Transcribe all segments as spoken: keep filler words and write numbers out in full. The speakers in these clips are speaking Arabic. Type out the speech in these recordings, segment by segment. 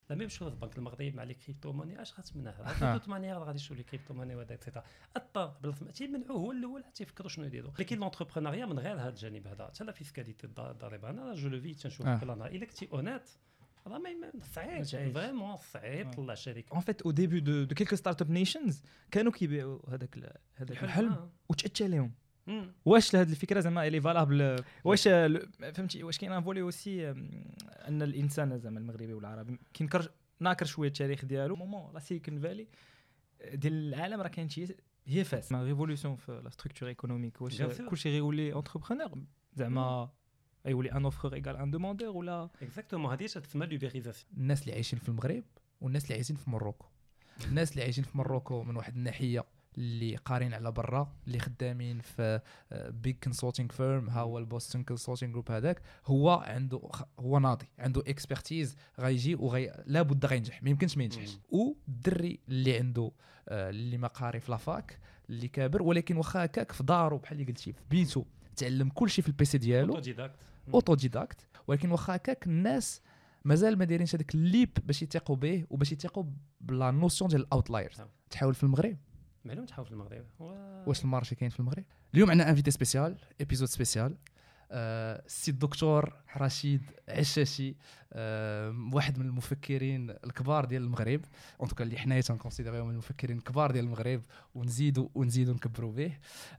لا ميم شوز البنك المغربي مع لي كريبتو موني اش غتمنعها دوت مانيير غادي يشوفوا لي كريبتو موني وهذا اكسيتيرا الطار بلا تيمنعوه هو الاول حتى يفكروا شنو يديروا لكن لونتربرونيا من غير هذا الجانب هذا حتى لا فيسكاليتي الضريبه انا جو لو في تنشوف بلان الا كنتي اونيت راه ما صعيب فريمون صعيب طلع شركه ان فيت او ديبي دو دو كيلكو ستارت اب نيشنز كانوا كيبيعوا هذاك هذاك الحلم وتاتى لهم واش هذه الفكره زعما الي فالابل واش فهمتي واش كاين ان فولي اوسي ان الانسان زعما المغربي والعربي كينكر ناكر شويه التاريخ ديالو مومون لا سيليكون فالي ديال العالم راه كاين شي هي فاس ما ريفولوسيون في لا ستركتور ايكونوميك واش كلشي غيولي انتربرونور زعما يولي ان اوفر ايغال ان دوموندور ولا اكزاكتومون هذه تسمى ليبريزاسيون. الناس اللي عايشين في المغرب والناس اللي عايشين في مروكو الناس اللي عايشين في مروكو من واحد الناحيه اللي قارين على برا اللي خدامين في بيج كونسلتينغ فيرم ها هو البوستون كونسلتينغ جروب هذاك هو عنده هو ناضي عنده اكسبرتيز غيجي وغي لابد غينجح ما يمكنش ما ينجحش والدري اللي عنده اللي ما قاري في لافاك اللي كابر ولكن واخا هكاك في دارو بحال اللي قلتي في بيتو تعلم كل شيء في البيسي ديالو اوتوديداكت اوتوديداكت ولكن واخا هكاك الناس مازال ما دايرينش هذاك الليب باش يثقوا به وباش يثقوا بلا نوسيون ديال الاوتلايرز. تحاول في المغرب معلوم تحاول في المغرب و... واش المارشي كاين في المغرب؟ اليوم عندنا انفيتي سبيسيال ابيزود سبيسيال أه السي الدكتور رشيد عشاشي أه واحد من المفكرين الكبار ديال المغرب اون توكا اللي حنايا تنكونسيديريو من المفكرين الكبار ديال المغرب ونزيدوا ونزيدوا نكبروا به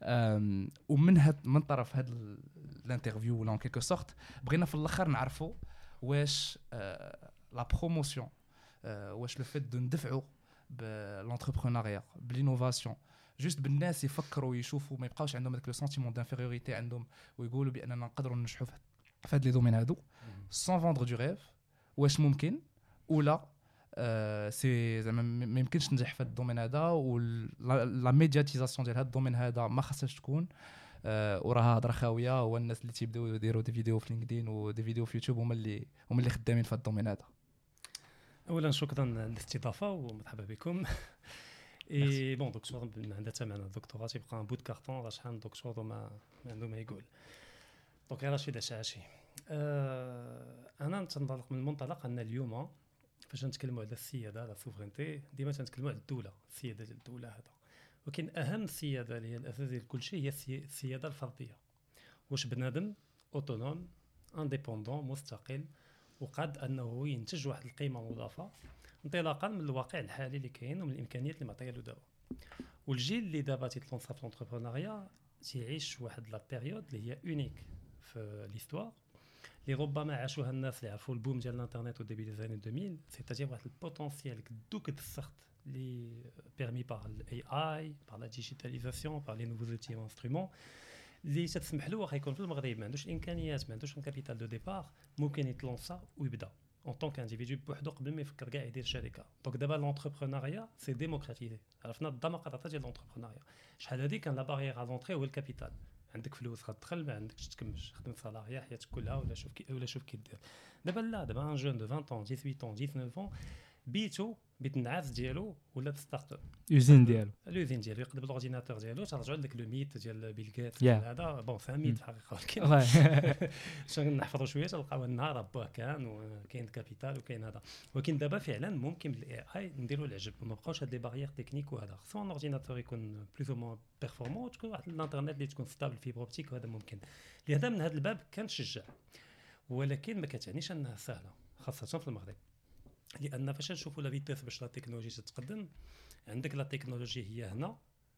ومن هاد من طرف هاد الانترفيو ولا ان كيلكو سورت بغينا في الاخر نعرفوا واش أه لا بروموسيون أه واش لو فيت دو ندفعوا بالانتربرونيا بالانوفاسيون جوست بالناس يفكروا يشوفوا ما يبقاوش عندهم داك لو سنتيمون دانفيريوريتي عندهم ويقولوا باننا نقدروا ننجحوا في هاد لي دومين هادو سون فوندر دو ريف واش ممكن ولا آه سي زعما ما يمكنش تنجح في هاد الدومين هذا ولا ميدياتيزاسيون ديال هاد الدومين هذا ما خاصهاش تكون آه وراها هضره خاويه هو الناس اللي تيبداو يديروا دي فيديو في لينكدين ودي فيديو في يوتيوب هما اللي هما اللي خدامين في هاد الدومين هذا. اولا شكرا للاستضافه ومرحبا بكم. اي بون دكتور عندها حتى معنا الدكتوراه تيبقى بوت كارطون راه شحال من دكتور وما ما عنده ما يقول. دونك رشيد عشاشي أه انا نتنطلق من المنطلق ان اليوم فاش نتكلموا على السياده على السوفرينتي ديما تنتكلموا على الدوله السياده ديال الدوله هذا ولكن اهم سياده اللي هي الاساس ديال كل شيء هي السياده الفرديه واش بنادم اوتونوم انديبوندون مستقل وقد انه ينتج واحد القيمه مضافه انطلاقا من الواقع الحالي اللي كاين ومن الامكانيات اللي معطيه له دابا والجيل اللي دابا تيتلونسا في لونتربرونيا تيعيش واحد لا بيريود اللي هي اونيك في ليستوار اللي ربما عاشوها الناس اللي عرفوا البوم ديال الانترنت وديبي دي زاني ألفين سيتاجي واحد البوتونسيال كدوك السخط اللي بيرمي بار الاي اي بار لا ديجيتاليزاسيون بار لي نوفو زوتي وانسترومون اللي تسمح له واخا يكون في المغرب ما عندوش الامكانيات ما عندوش كابيتال دو ديبار ممكن يتلونسا ويبدا en tant qu'individu بوحدو قبل ما يفكر كاع يدير شركه. دونك دابا لونتربرونيا سي ديموكراتيزي عرفنا الديمقراطيه ديال لونتربرونيا شحال هذه كان لا بارير على لونطري هو الكابيتال عندك فلوس غتدخل ما عندكش تكمش خدم صلاحيه حياتك كلها ولا شوف كي ولا شوف كي دير دابا لا دابا ان جون دو عشرين ans dix-huit ans dix-neuf ans بيتو بيت النعاس ديالو ولا ستارت اب يوزين ديالو اليوزين ديالو يقلب الاورديناتور ديالو ترجعوا لك لو ميت ديال بيل جيت yeah. هذا بون فهميت في الحقيقه ولكن شنو نحفظوا شويه تلقاو النهار با كان وكاين كابيتال وكاين هذا ولكن دابا فعلا ممكن بالاي اي نديروا العجب وما بقاوش هاد لي بارير تكنيك وهذا خصو الاورديناتور يكون بلوز او مون بيرفورمون تكون واحد الانترنت اللي تكون ستابل فيبر اوبتيك وهذا ممكن لهذا من هذا الباب كنشجع ولكن ما كتعنيش انها سهله خاصه في المغرب لان فاش نشوفوا لا فيتاس باش لا تكنولوجي تتقدم عندك لا تكنولوجي هي هنا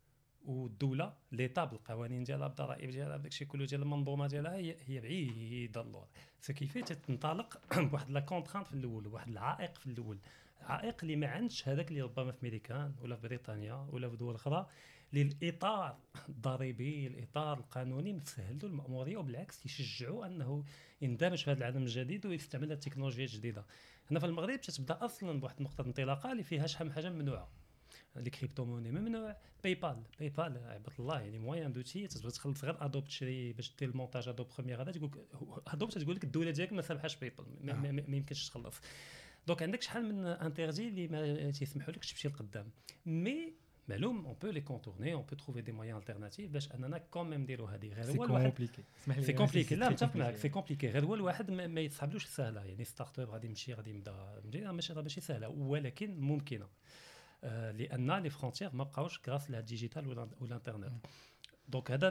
والدوله ليطا بالقوانين ديالها بالضرائب ديالها بداكشي كله ديال المنظومه ديالها هي هي بعيده اللور فكيفاش تنطلق بواحد لا كونترانت في الاول واحد العائق في الاول عائق اللي ما عندش هذاك اللي ربما في امريكان ولا في بريطانيا ولا في دول اخرى للاطار الضريبي الاطار القانوني مسهل له المأموريه وبالعكس يشجعوا انه يندمج في هذا العالم الجديد ويستعمل التكنولوجيا الجديده. هنا في المغرب تتبدا اصلا بواحد نقطه انطلاقه اللي فيها شحال من حاجه ممنوعه لي كريبتو موني ممنوع باي بال باي بال عباد الله يعني موان دوتي تقدر تخلص غير ادوب تشري باش دير المونتاج ادوب بروميير هذا تقول ادوب تقول لك الدوله ديالك ما سامحاش باي بال ما, ما, ما يمكنش تخلص دونك عندك شحال من انترجي اللي ما تيسمحوا لكش تمشي لقدام مي معلوم اون بو لي كونتورني اون بو تروفي دي مويان التيرناتيف باش اننا كوميم نديرو هذه غير هو الواحد كومبليكي سي كومبليكي لا متفق معك سي كومبليكي غير هو الواحد ما يصحابلوش سهله يعني ستارت اب غادي يمشي غادي يبدا ماشي ماشي سهله ولكن ممكنه آه لان لي فرونتيير ما بقاوش غراس لهاد الديجيتال ولا الانترنت دونك هذا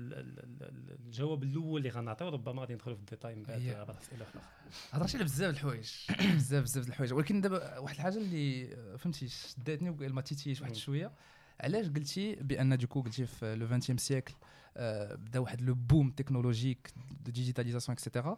الجواب الاول اللي غنعطيو ربما غادي ندخلوا في الديتاي من بعد بعض الاسئله اخرى هضرتي على بزاف الحوايج بزاف بزاف الحوايج ولكن دابا واحد الحاجه اللي فهمتي شداتني وما تيتيش واحد شويه علاش قلتي بان دوكو قلتي في لو فيغتيام سيكل بدا واحد لو بوم تكنولوجيك دو ديجيتاليزاسيون اكسيتيرا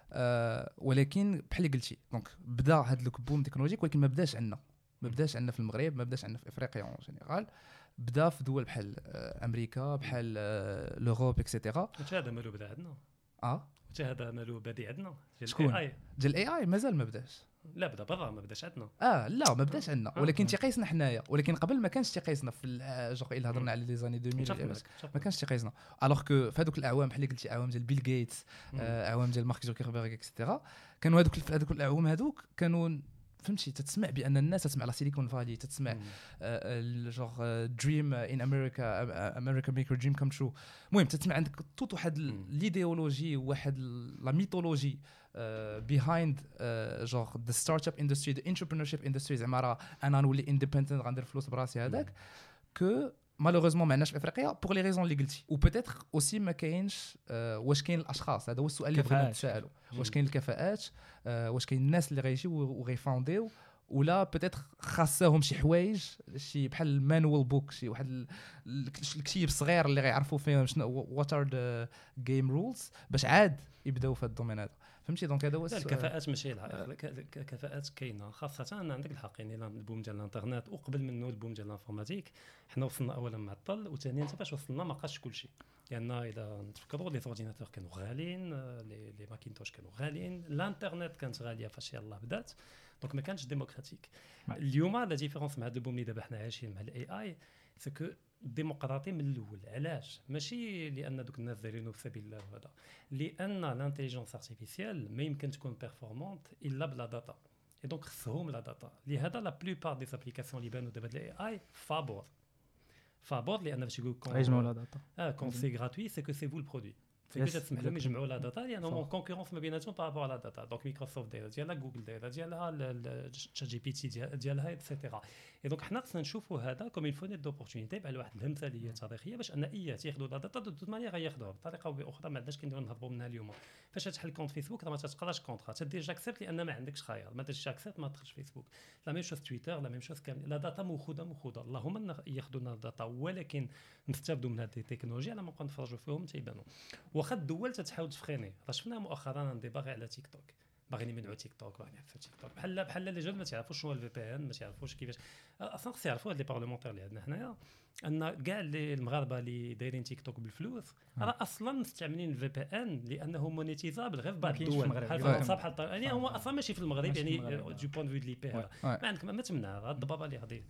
ولكن بحال اللي قلتي دونك بدا هذا لو بوم تكنولوجيك ولكن ما بداش عندنا ما بداش عندنا في المغرب ما بداش عندنا في افريقيا اون جينيرال بدا في دول بحال امريكا بحال لوروب اكسيتيرا هذا مالو بدا عندنا اه هذا مالو بادي عندنا شكون ديال الاي اي مازال ما بداش لا بدا برا ما بداش عندنا اه لا ما بداش عندنا ولكن تيقيسنا حنايا ولكن قبل ما كانش تيقيسنا في جوغ الا هضرنا على لي زاني ألفين ما كانش تيقيسنا الوغ كو في هذوك الاعوام بحال اللي قلتي اعوام ديال بيل غيتس اعوام ديال مارك زوكربيرغ اكسيتيرا كانوا هذوك في هذوك الاعوام هذوك كانوا فهمتي تتسمع بان الناس تسمع على سيليكون فالي تتسمع جوغ دريم ان امريكا امريكا ميك دريم كم ترو المهم تتسمع عندك توت واحد ليديولوجي واحد لا ميثولوجي بيهايند جوغ ذا ستارت اب اندستري ذا انتربرينورشيب اندستري زعما راه انا نولي اندبندنت غندير فلوس براسي هذاك كو مالوغوزمون ما عندناش في افريقيا بوغ لي ريزون اللي قلتي وبيتيتر اوسي ما كاينش واش كاين الاشخاص هذا هو السؤال اللي بغينا نتسائلوا واش كاين الكفاءات واش كاين الناس اللي غيجيو وغيفاونديو ولا بيتيتر خاصهم شي حوايج شي بحال المانوال بوك شي واحد الكتيب صغير اللي غيعرفوا فيه شنو وات ار ذا جيم رولز باش عاد يبداو في هذا الدومين هذا فهمتي دونك هذا هو الكفاءات ماشي الكفاءات كاينه خاصه ان عندك الحق يعني البوم ديال الانترنت وقبل منه البوم ديال الانفورماتيك حنا وصلنا اولا معطل وثانيا حتى فاش وصلنا ما بقاش كلشي لان يعني اذا نتفكروا لي اورديناتور كانوا غاليين لي لي ماكينتوش كانوا غاليين الانترنت كانت غاليه فاش يلاه بدات دونك ما كانش ديموكراتيك اليوم لا ديفيرونس مع هذا البوم اللي دابا حنا عايشين مع الاي اي سي كو ديمقراطي من الاول علاش ماشي لان دوك الناس دايرينو في سبيل الله هذا لان الانتيليجنس ارتيفيسيال ما يمكن تكون بيرفورمانت الا بلا داتا اي دونك خصهم لا داتا لهذا لا بلوبار دي زابليكاسيون اللي بانوا دابا الاي اي فابور فابور لان باش يقول كون يجمعوا لا داتا اه كون سي غراتوي سي كو سي فو البرودوي سي كو تسمح لهم يجمعوا لا داتا لانهم كونكورونس ما بيناتهم بارابور على داتا دونك مايكروسوفت دايره ديالها جوجل دايره ديالها تشات جي بي تي ديالها ايتترا اي دونك حنا خصنا نشوفوا هذا كوم الفوني دوبورتونيتي بحال واحد الامثاليه تاريخيه باش ان اي تياخذوا لا داتا دو توت مانيير غياخذوها بطريقه او باخرى ما عندناش كنديروا نهضروا منها اليوم فاش تحل كونت فيسبوك راه ما تتقراش كونطرا تدير جاكسبت لان ما عندكش خيار ما ديرش جاكسبت ما تدخلش فيسبوك لا ميم شوز تويتر لا ميم شوز كامل لا داتا موخوده موخوده اللهم ياخذوا لنا الداتا ولكن نستافدوا من هذه التكنولوجيا على ما نبقاو نتفرجوا فيهم تيبانوا واخا الدول تتحاول تفخيني راه شفنا مؤخرا ندي باغي على تيك توك باغيين يمنعوا تيك توك باغيين يحفوا تيك توك بحال بحال لي جون ما تعرفوش شنو الفي بي ان ما تعرفوش كيفاش اصلا خص يعرفوا هاد لي بارلمونتير اللي عندنا حنايا ان كاع لي المغاربه اللي دايرين تيك توك بالفلوس راه اصلا مستعملين الفي بي ان لانه مونيتيزابل غير في بعض الدول بحال فرنسا بحال يعني هو اصلا ماشي في المغرب يعني دو بوين فيو دي لي بي هذا ما عندك ما تمنع هاد الضبابه اللي غادي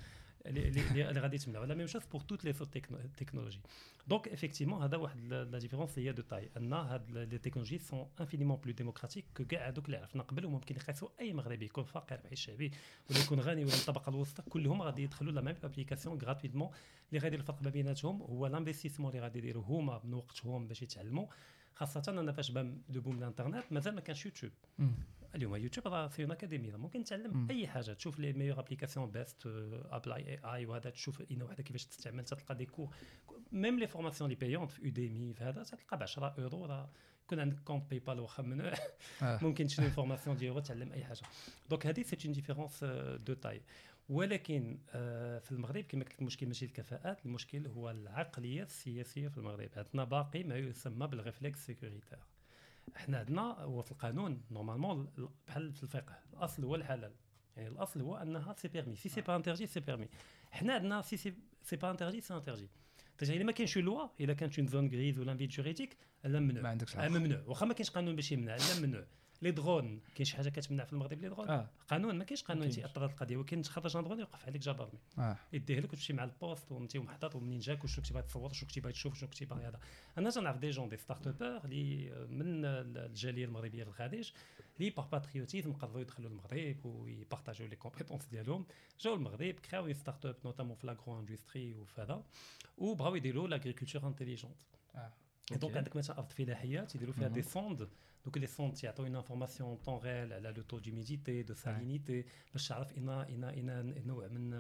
اللي اللي غادي تمنع ولا ميم شوز بور توت لي تكنولوجي دونك افيكتيفمون هذا واحد لا ديفيرونس هي دو تاي ان هاد لي تكنولوجي سون انفينيمون بلو ديموكراتيك كو كاع هذوك اللي عرفنا قبل وممكن يقيسوا اي مغربي يكون فقير بعيش شعبي ولا يكون غني ولا الطبقه الوسطى كلهم غادي يدخلوا لا ميم ابليكاسيون غراتويتمون اللي غادي الفرق ما بيناتهم هو الانفستيسمون اللي غادي يديروا هما من وقتهم باش يتعلموا خاصه انا فاش بان لو بوم الانترنت مازال ما كانش يوتيوب اليوم يوتيوب راه في اكاديميه ممكن تعلم م. اي حاجه تشوف لي ميور ابليكاسيون بيست ابلاي اي اي وهذا تشوف اين وحده كيفاش تستعمل تلقى دي كور ميم لي فورماسيون لي بايونت في اوديمي في هذا تلقى ب عشرة اورو راه يكون عندك كونت باي بال واخا ممنوع ممكن تشري فورماسيون ديالو تعلم اي حاجه دونك هذه سي اون ديفيرونس دو تاي ولكن في المغرب كما قلت المشكل ماشي الكفاءات المشكل هو العقليه السياسيه في المغرب عندنا باقي ما يسمى بالريفلكس سيكوريتير احنا عندنا هو في القانون نورمالمون بحال في الفقه الاصل هو الحلال يعني الاصل هو انها سي بيرمي سي سي با انترجي سي بيرمي حنا عندنا سي سي سي با انترجي سي انترجي تجي الا ما كاينش لوا الا كانت اون زون غريز ولا فيد جوريديك لا ممنوع ما عندكش ممنوع واخا ما كاينش قانون باش يمنع لا ممنوع لي درون كاين شي حاجه كتمنع في المغرب لي درون آه. قانون ما كاينش قانون تيأثر هذه القضيه ولكن تخرج ان درون يوقف عليك جدرمي آه. يديه لك وتمشي مع البوست وانتي محطط ومنين جاك وشنو كنتي باغي تصور شنو كنتي باغي تشوف شنو كنتي باغي هذا انا تنعرف دي جون دي ستارت ابر اللي من الجاليه المغربيه في الخارج لي باغ باتريوتيزم قدروا يدخلوا المغرب ويبارطاجيو لي كومبيتونس ديالهم جاو المغرب كراو ستارت اب نوتامون في لاغرو اندستري وفهذا وبغاو يديروا لاغريكولتور انتيليجونت. دونك عندك مثلا ارض فلاحيه تيديروا فيها دي سوند دوك لي سوند تيعطيو اون انفورماسيون طون ريل على لو تو ديميديتي دو سالينيتي باش تعرف ان ان ان نوع من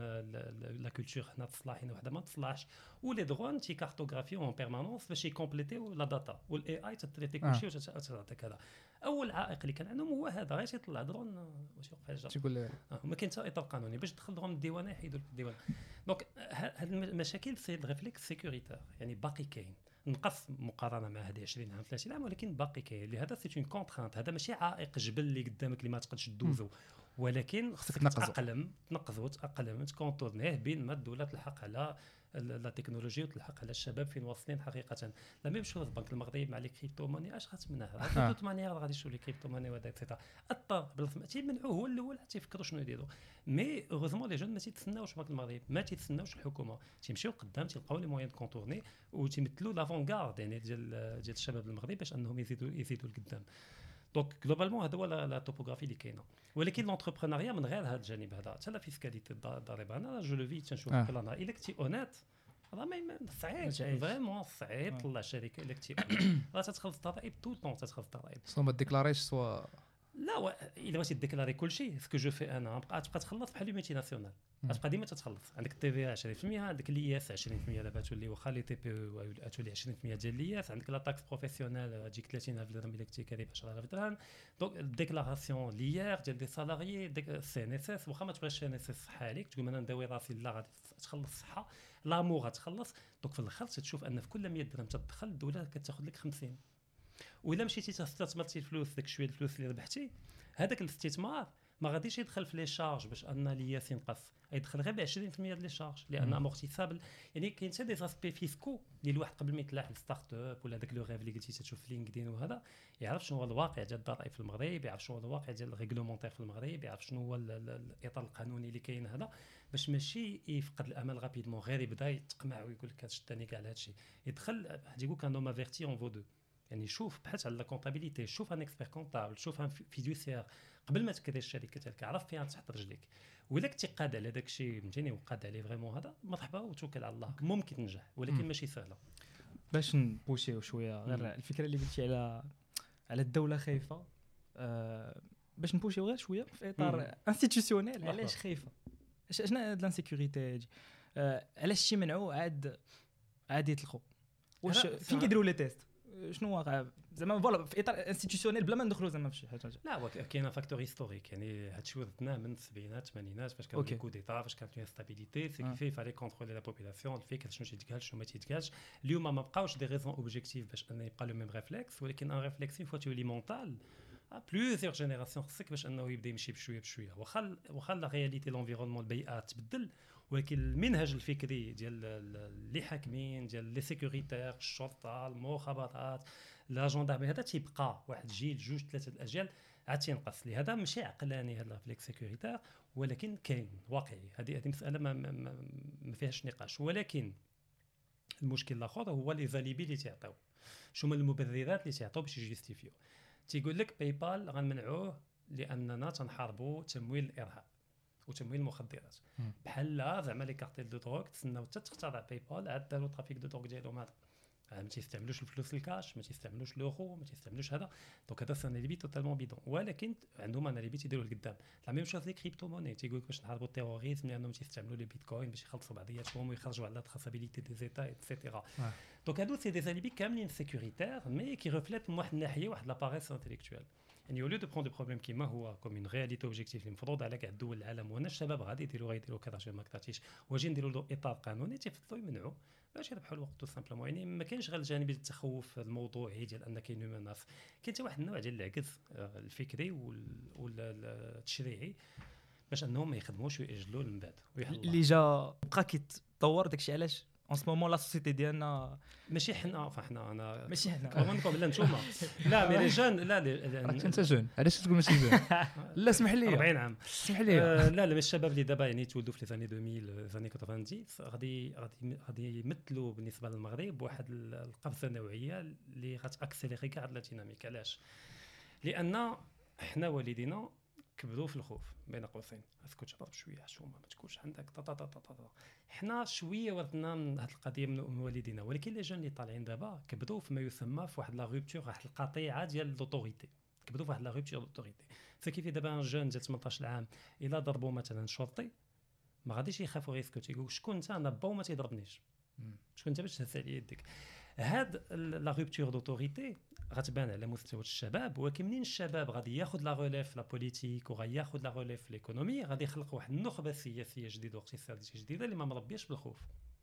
لا كولتور هنا تصلح هنا وحده ما تصلحش ولي درون تي كارتوغرافيو اون بيرمانونس باش يكومبليتيو لا داتا والاي اي تتريتي كلشي وتعطيك هذا. اول عائق اللي كان عندهم هو هذا غير تيطلع درون واش يوقف الجر تيقول ما كاين حتى اطار قانوني باش تدخل درون الديوانه يحيدوا الديوانه. دونك هاد المشاكل سي ريفليكس سيكوريتير يعني باقي كاين نقص مقارنه مع هذه عشرين عام ثلاثين عام ولكن باقي كاين لهذا سي اون كونترانت. هذا ماشي عائق جبل اللي قدامك اللي ما تقدش تدوزو ولكن خصك تاقلم تنقذو تاقلم تكونتورنيه بين ما الدوله تلحق على لا تكنولوجيا وتلحق على الشباب فين واصلين حقيقه. لا ميم شوز البنك المغربي مع لي كريبتو ماني اش غتمنعها دوت مانيير غادي يشوفوا لي كريبتو ماني وهذا ايتترا اضطر بلا تيمنعوه هو الاول حتى يفكروا شنو يديروا. مي اوغوزمون لي جون ما تيتسناوش البنك المغربي ما تيتسناوش الحكومه تيمشيو قدام تلقاو لي موين كونتورني وتيمثلوا لافونغارد يعني ديال ديال الشباب المغربي باش انهم يزيدوا يزيدوا لقدام. دونك جلوبالمون هذا هو لا توبوغرافي اللي كاينه. ولكن لونتربرونيا من غير هذا الجانب هذا حتى لا فيسكاليتي الضريبه انا جو لو في تنشوف كلنا الا كنتي اونيت راه ما صعيب فريمون صعيب طلع شركه الا كنتي راه تتخلص الضرائب طول طون تتخلص الضرائب سوا ما ديكلاريش سوا لا الا بغيتي ديكلاري كلشي سكو جو في انا بقى تبقى تخلص بحال ميتي ناسيونال تبقى ديما تتخلص عندك التي في عشرين بالمية عندك الاي اس عشرين بالمية دابا تولي واخا لي تي بي تولي عشرين بالمية ديال الاي اس عندك لا تاكس بروفيسيونيل تجيك ثلاثين ألف درهم الا كنتي كاري عشرة آلاف درهم. دونك الديكلاراسيون ليير ديال دي سالاريي سي ان اس اس واخا ما تبغيش سي ان اس اس صحه عليك تقول انا نداوي راسي لا غادي تخلص الصحه لامور غتخلص. دونك في الاخر تشوف ان في كل مية درهم تدخل الدوله كتاخذ لك خمسين. والا مشيتي تستثمرتي الفلوس داك شويه الفلوس اللي ربحتي هذاك الاستثمار ما غاديش يدخل في لي شارج باش ان لياس ينقص يدخل غير ب عشرين بالمية ديال لي شارج لان امورتيسابل يعني كاين حتى دي زاسبي فيسكو ديال الواحد قبل ما يطلع للستارت اب ولا داك لو ريف اللي قلتي تشوف في لينكدين وهذا يعرف شنو هو الواقع ديال الضرائب في المغرب يعرف شنو هو الواقع ديال الريغلومونتير في المغرب يعرف شنو هو الاطار القانوني اللي كاين هذا باش ماشي يفقد الامل رابيدمون غير يبدا يتقمع ويقول لك شتاني كاع هذا الشيء يدخل يقول كان نو مافيرتي اون فو دو يعني شوف بحث على لا كونطابيليتي شوف ان اكسبير كونطابل شوف ان فيدوسيير قبل ما تكري الشركه ديالك عرف فيها تحط رجليك ولا كنتي قاد على داك الشيء فهمتيني وقاد عليه فريمون هذا مرحبا وتوكل على الله ممكن تنجح ولكن ماشي سهله. باش نبوشيو شويه غير الفكره اللي قلتي على على الدوله خايفه أه باش نبوشيو غير شويه في اطار انستيتيوشنيل علاش خايفه شنو هاد لانسيكوريتي أه علاش شي منعو عاد عاد يطلقوا واش فين كيديروا لي تيست شنو واقع زعما فوالا في اطار انستيتيوشنيل بلا ما ندخلوا زعما في شي حاجه لا كاين فاكتور هيستوريك يعني هادشي ورثناه من السبعينات الثمانينات فاش كان كو ديتا فاش كانت انستابيليتي سي كيفي فالي كونترولي لا بوبولاسيون الفكر شنو تيتقال شنو ما تيتقالش. اليوم ما بقاوش دي ريزون اوبجيكتيف باش ان يبقى لو ميم ريفلكس ولكن ان ريفلكس فوا تولي مونطال بلوزيور جينيراسيون خصك باش انه يبدا يمشي بشويه بشويه واخا واخا لا رياليتي لونفيرونمون البيئه تبدل ولكن المنهج الفكري ديال اللي حاكمين ديال لي سيكوريتير الشرطه المخابرات لا جوندارمي هذا تيبقى واحد جيل جوج ثلاثه الاجيال عاد تينقص. لهذا ماشي عقلاني هذا الفليك سيكوريتير ولكن كاين واقعي هذه هذه مساله ما, ما, ما, ما فيهاش نقاش. ولكن المشكل الاخر هو لي زاليبي اللي تيعطيو شنو من المبررات اللي تيعطيو باش يجستيفيو. تيقول لك باي بال غنمنعوه لاننا تنحاربوا تمويل الارهاب وتمويل المخدرات بحال لا زعما لي كارتيل دو دروغ تسناو حتى تخترع باي بال عاد داروا ترافيك دو دروغ ديالهم هذا ما تيستعملوش الفلوس الكاش ما تيستعملوش لوغو ما تيستعملوش هذا. دونك هذا سان ليبي توتالمون بيدون ولكن عندهم انا ليبي تيديروا لقدام لا ميم شوز لي كريبتو موني تيقول لك باش نحاربوا التيروريزم لانهم تيستعملوا لي بيتكوين باش يخلصوا بعضياتهم ويخرجوا على التراسابيليتي دي زيتا ايتترا. دونك هادو سي دي زاليبي كاملين سيكوريتير مي كي ريفليت من واحد الناحيه واحد لا باريس انتيليكتويل يعني اوليو دو برون دو بروبليم كيما هو كوم اون رياليتي اوبجيكتيف اللي مفروض على كاع الدول العالم وانا الشباب غادي يديروا غيديروا كذا شي ما كتعطيش واجي نديروا له اطار قانوني تيفضلوا يمنعوا باش يربحوا الوقت تو سامبلومون. يعني ما كاينش غير الجانب ديال التخوف الموضوعي ديال ان كاين مناف كاين حتى واحد النوع ديال العجز الفكري والتشريعي باش انهم ما يخدموش ويأجلوا من بعد اللي جا بقى كيتطور داكشي. علاش ان سو مومون لا سوسيتي ديالنا ماشي حنا فاحنا انا ماشي حنا كومونكم لا نتوما لا مي لي جون لا راك انت جون علاش تقول ماشي جون لا اسمح لي أربعين عام اسمح لي آه لا لا الشباب اللي دابا يعني تولدوا في لي زاني ألفين زاني تسعين غادي غادي غادي يمثلوا بالنسبه للمغرب واحد القفزه نوعيه اللي غتاكسيليري كاع هاد لا ديناميك. علاش؟ لان حنا والدينا كبروا في الخوف بين قوسين، اسكت شباب شويه حشومه ما تكونش عندك طا طا طا طا. حنا شويه ورثنا من هذه القضيه من والدينا، ولكن لي جون اللي طالعين دابا كبروا في ما يسمى في واحد لا روبتور، واحد القطيعه ديال لوطوريتي، كبروا في واحد لا روبتور لوطوريتي. فكيف دابا جون ديال ثمنطاش عام الا ضربوا مثلا شرطي ما غاديش يخافوا غيسكت، يقول شكون انت انا با وما تيضربنيش، شكون انت باش تهز عليا يدك. هاد لا روبتور دوتوريتي غتبان على مستوى الشباب، ولكن منين الشباب غادي ياخذ لا ريليف لا بوليتيك وغياخذ لا ريليف ليكونومي، غادي يخلق واحد النخبه سياسيه جديده واقتصاديه جديده اللي ما مربياش بالخوف،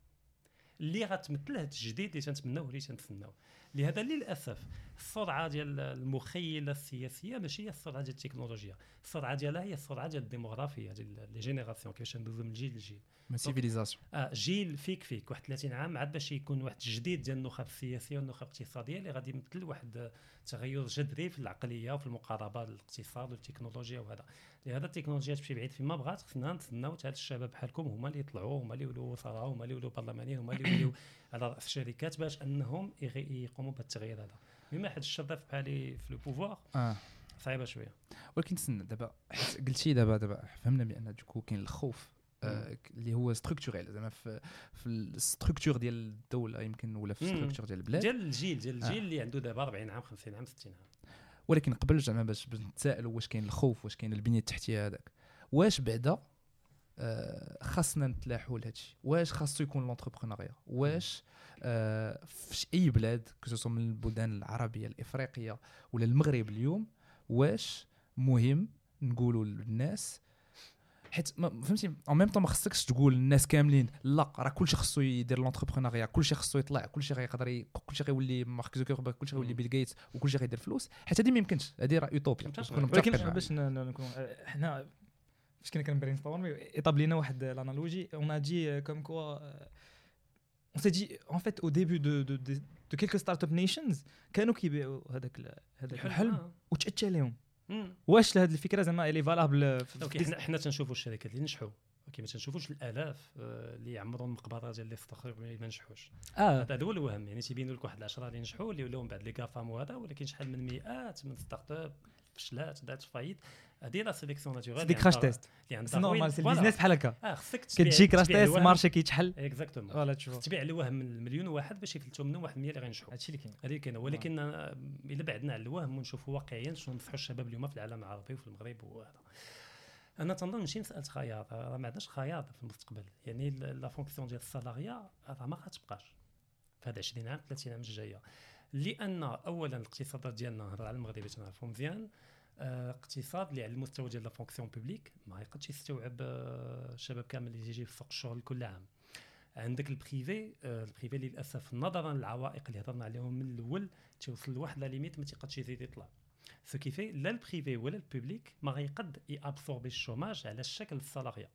اللي غتمثل هذا الجديد اللي تنتمناوه اللي تنتسناوه. لهذا للاسف السرعه ديال المخيله السياسيه ماشي هي السرعه ديال التكنولوجيا، السرعه ديالها هي السرعه ديال الديموغرافيا ديال لي جينيراسيون، كيفاش ندوزو من جيل لجيل. من سيفيليزاسيون اه جيل فيك فيك واحد ثلاثين عام عاد باش يكون واحد الجديد ديال النخب السياسيه والنخب الاقتصاديه اللي غادي يمثل واحد تغير جذري في العقليه وفي المقاربه للاقتصاد والتكنولوجيا. وهذا لهذا التكنولوجيا تمشي بعيد فيما بغات، خصنا نتسناو حتى الشباب بحالكم هما اللي يطلعوا، هما اللي يولوا وزراء، هما اللي يولوا برلمانيين، هما اللي يولوا على راس الشركات باش انهم يقوموا بالتغيير هذا. بما حد الشباب بحالي في لو بوفوار اه صعيبه شويه. ولكن تسنى دابا قلتي دابا دابا فهمنا بان دوكو كاين الخوف آه اللي هو ستركتوريل زعما في في الستركتور ديال الدوله يمكن ولا في الستركتور ديال البلاد ديال الجيل ديال الجيل آه. اللي عنده دابا أربعين عام خمسين عام ستين عام. ولكن قبل زعما باش نتسائلوا واش كاين الخوف واش كاين البنيه التحتيه هذاك، واش بعدا آه خاصنا نتلاحوا لهذا الشيء، واش خاصو يكون لونتربرونيا، واش آه في اي بلاد كسوسو من البلدان العربيه الافريقيه ولا المغرب اليوم، واش مهم نقولوا للناس حيت فهمتي اون ميم طون ما خصكش تقول للناس كاملين لا راه كلشي خصو يدير لونتربرونيا، كلشي خصو يطلع، كلشي غيقدر ي... كلشي غيولي مارك زوكربيرغ، كلشي غيولي بيل غيتس وكلشي غيدير فلوس، حيت هذه ما يمكنش، هذه راه يوتوبيا. ولكن باش نكون حنا فاش كنا كنبرين ستورم ايطابلينا واحد لانالوجي اون ا دي كوم كوا on s'est dit en fait au début de de de, de quelques startup nations كانوا كيبيعوا هذاك هذاك الحلم وتأتى لهم. واش لهاد الفكره زعما اللي فالابل حنا حنا تنشوفوا الشركات اللي نجحوا، ولكن ما تنشوفوش الالاف اللي يعمروا المقبره ديال اللي استخرجوا ما نجحوش. اه هذا هو الوهم، يعني تيبينوا لك واحد العشرة اللي نجحوا اللي ولاو من بعد لي كافام وهذا، ولكن شحال من مئات من ستارت اب فشلات دات فايت. هذه لا سيليكسيون ناتورال ديك كراش تيست اللي عندها سي نورمال سي البيزنس بحال هكا. اه خصك كتجي كراش تيست مارشي كيتحل اكزاكتومون فوالا تشوف تبيع الوهم من المليون واحد باش يفلتوا منهم واحد مية اللي غينجحوا. هادشي اللي كاين هذه اللي كاينه. ولكن الا بعدنا على الوهم ونشوفوا واقعيا شنو نصحوا الشباب اليوم في العالم العربي وفي المغرب وهذا، انا تنظن ماشي مساله خياط، راه ما عندناش خياط في المستقبل. يعني لا فونكسيون ديال السالاريا راه ما غتبقاش في هاد عشرين عام ثلاثين عام الجايه، لان اولا الاقتصادات ديالنا هضر على المغرب تنعرفوا مزيان، اقتصاد اللي على المستوى ديال لا فونكسيون بوبليك ما يقدش يستوعب الشباب كامل اللي يجي في سوق الشغل كل عام. عندك البريفي، البريفي للاسف نظرا للعوائق اللي هضرنا عليهم من الاول توصل لواحد لا ليميت ما تيقدش يزيد يطلع، سو كيفي لا البريفي ولا البوبليك ما غيقد يابسوربي الشوماج على الشكل السالاريا.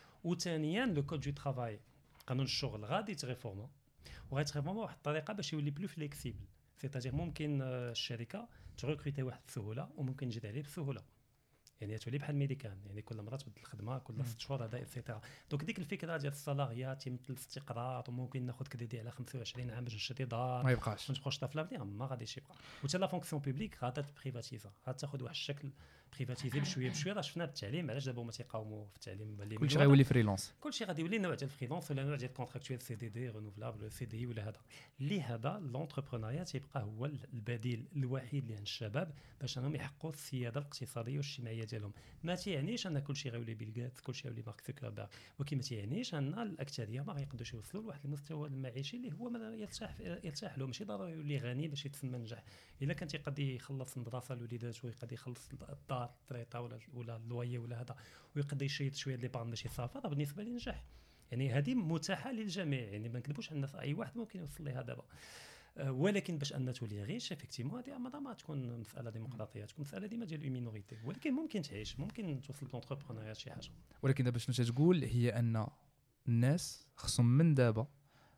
وثانيا لو كود دو ترافاي قانون الشغل غادي يتريفورما وغيتريفورما بواحد الطريقه باش يولي بلو فليكسيبل، سيتاجير ممكن الشركه تغوكريتي واحد بسهوله وممكن تجي عليه بسهوله، يعني تولي بحال ميديكان، يعني كل مره تبدل الخدمه كل ست شهور هذا ايتترا. دونك ديك الفكره ديال السالاريات يمثل الاستقرار وممكن ناخذ كريدي على خمسة وعشرين عام باش نشري دار ما يبقاش ما نبقاوش طافله فيها، ما غاديش يبقى. وحتى لا فونكسيون بوبليك غادا تبريفاتيزا، غتاخذ واحد الشكل بريفاتيزي بشويه بشويه. راه شفنا بالتعليم علاش دابا هما تيقاوموا في التعليم اللي كلشي غيولي فريلانس، كلشي غادي يولي نوع ديال الفريلانس ولا نوع ديال الكونتراكتويل سي دي دي رينوفلابل سي دي ولا هذا. لهذا لونتربرونيا تيبقى هو البديل الوحيد اللي عند الشباب باش انهم يحققوا السياده الاقتصاديه والاجتماعيه ديالهم. ما تيعنيش ان كلشي غيولي بيل غيتس كلشي غيولي مارك زوكربيرغ، ولكن ما تيعنيش ان الاكثريه ما غيقدروش يوصلوا لواحد المستوى المعيشي اللي هو يرتاح يرتاح له. ماشي ضروري يولي غني باش يتسمى نجح، الا كان تيقدر يخلص المدرسه لوليداته ويقدر يخلص الدار الطريطه ولا ولا اللويه ولا هذا ويقدر يشيط شويه لي بارن باش يصافى، راه بالنسبه لي نجح. يعني هذه متاحه للجميع، يعني ما نكذبوش على الناس، اي واحد ممكن يوصل لها دابا. أه ولكن باش ان تولي غيش افيكتيمون هذه ما ما تكون مساله ديمقراطيه، تكون مساله ديما ديال المينوريتي، ولكن ممكن تعيش، ممكن توصل لونتربرونيا شي حاجه. ولكن دابا شنو تتقول هي ان الناس خصهم من دابا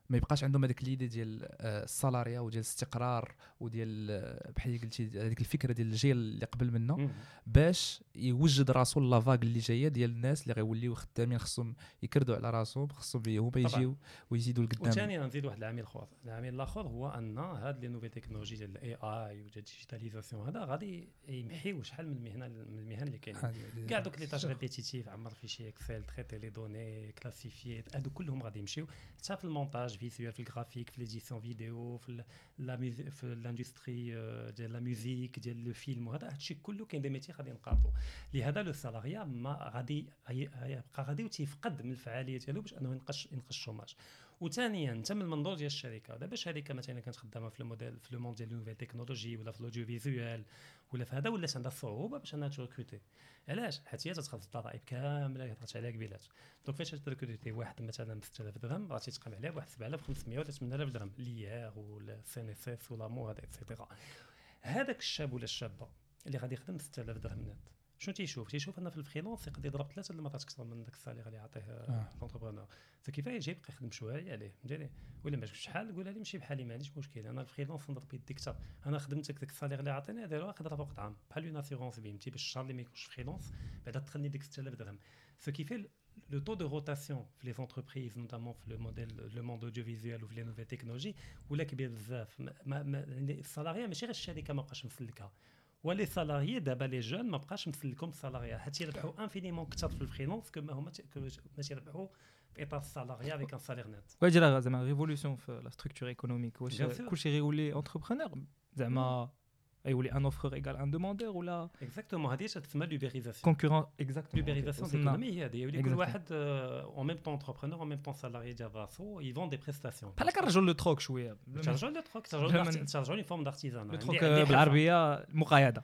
ما يبقاش عندهم هذيك ليدي ديال السالاريا وديال الاستقرار وديال بحال قلتي هذيك الفكره ديال الجيل اللي قبل منه باش يوجد راسو لافاغ اللي جايه ديال الناس اللي غيوليو خدامين خصهم يكردوا على راسهم خصهم هما يجيو ويزيدوا لقدام. وثاني نزيد واحد العامل اخر العامل الاخر هو ان هاد لي نوفي تكنولوجي ديال الاي اي وديال الديجيتاليزاسيون هذا غادي يمحيو شحال من المهنه من المهن اللي كاينين كاع دوك لي تاج ريبيتيتيف عمر فيشي اكسل تريتي لي دوني كلاسيفيي هادو كلهم غادي يمشيو حتى في المونتاج فيزيوال في الجرافيك في ليديسيون فيديو في لا في الاندستري ديال لا ميوزيك ديال لو فيلم وهذا هادشي كله كاين دي ميتي غادي ينقرضوا لهذا لو سالاريا ما غادي يبقى غادي وتيفقد من الفعاليه ديالو باش انه ينقص ينقص الشوماج. وثانيا انت من المنظور ديال الشركه دابا شركه مثلا كانت خدامه في الموديل في لو موند ديال نوفيل تكنولوجي ولا في الاوديو فيزيوال ولا في هذا ولات عندها صعوبه باش انها تركروتي. علاش؟ حيت هي تتخلص الضرائب كامله اللي هضرت عليها قبيلات. دونك فاش تركروتي واحد مثلا ب ستة آلاف درهم راه تيتقام عليه بواحد سبعة آلاف وخمسمية ولا ثمانية آلاف درهم ليير ولا سي ان اس اس ولا مو هذا اكسيتيرا. هذاك الشاب ولا الشابه اللي غادي يخدم ستة آلاف درهم نت شنو تيشوف تيشوف ان في الفريلانس يقدر يضرب ثلاثه المرات اكثر من داك السالير اللي يعطيه لونتربرونور. فكيفاه يجي يبقى يخدم شويه عليه فهمتيني ولا ماشي شحال قولها لي ماشي بحالي ما عنديش مشكل انا الفريلانس نضرب يدي اكثر انا خدمتك داك السالير اللي عطيني ديرو نقدر فوق عام بحال اون اسيغونس فهمتي باش الشهر اللي ما يكونش فريلانس بعدا تخلني ديك ستة آلاف درهم. فكيفاه le taux de rotation في les entreprises notamment في le modèle le monde audiovisuel ou في les nouvelles technologies ولا كبير بزاف السالاريا ماشي غير الشركه ما بقاش مسلكها ولي سالاريي دابا لي جون ما بقاش مسلكهم السالاريا حتى يربحوا انفينيمون اكثر في الفريلانس كما هما ماشي يربحوا في اطار السالاريا افيك ان سالير نت. واجي راه زعما ريفولوسيون في لا ستركتور ايكونوميك واش كلشي غيولي انتربرونور زعما يولي ان اوفر ايغال ان دوموندور ولا اكزاكتومون هذه تسمى لوبيريزاسيون كونكورون اكزاكتومون لوبيريزاسيون ديكونومي هذه يولي كل واحد اون ميم طون انتربرونور اون ميم طون سالاري ديال راسو يفون دي بريستاسيون بحال كنرجعوا لو تروك شويه ترجعوا لو تروك ترجعوا لي فورم دارتيزان لو تروك بالعربيه مقايضه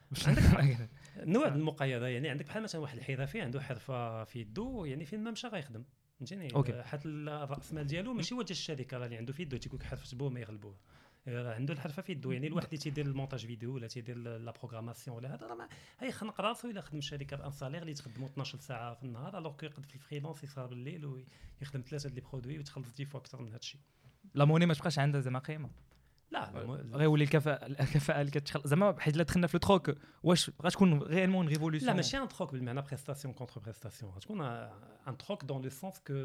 نوع المقايضه يعني عندك بحال مثلا واحد الحرفي عنده حرفه في يدو يعني فين ما مشى غيخدم فهمتيني حتى الراس مال ديالو ماشي هو ديال الشركه راه اللي عنده في يدو تيكون حرفه بوه ما يغلبوه عنده الحرفه في يدو يعني الواحد اللي تيدير المونتاج فيديو ولا تيدير لا بروغراماسيون ولا هذا راه هي خنق راسو الا خدم شركه بان سالير اللي تخدموا اثناش ساعه في النهار الوغ كو يقد في الفريلانس يسهر بالليل ويخدم ثلاثه ديال لي برودوي وتخلص دي فوا اكثر من هذا الشيء. لا موني ما تبقاش عندها زعما قيمه لا غيولي الكفاءه الكفاءه اللي كتخلق زعما حيت لا دخلنا في التروك واش غتكون غيالمون ريفولوسيون. لا ماشي ان تروك بالمعنى بريستاسيون كونتر بريستاسيون غتكون ان تروك دون لو سونس كو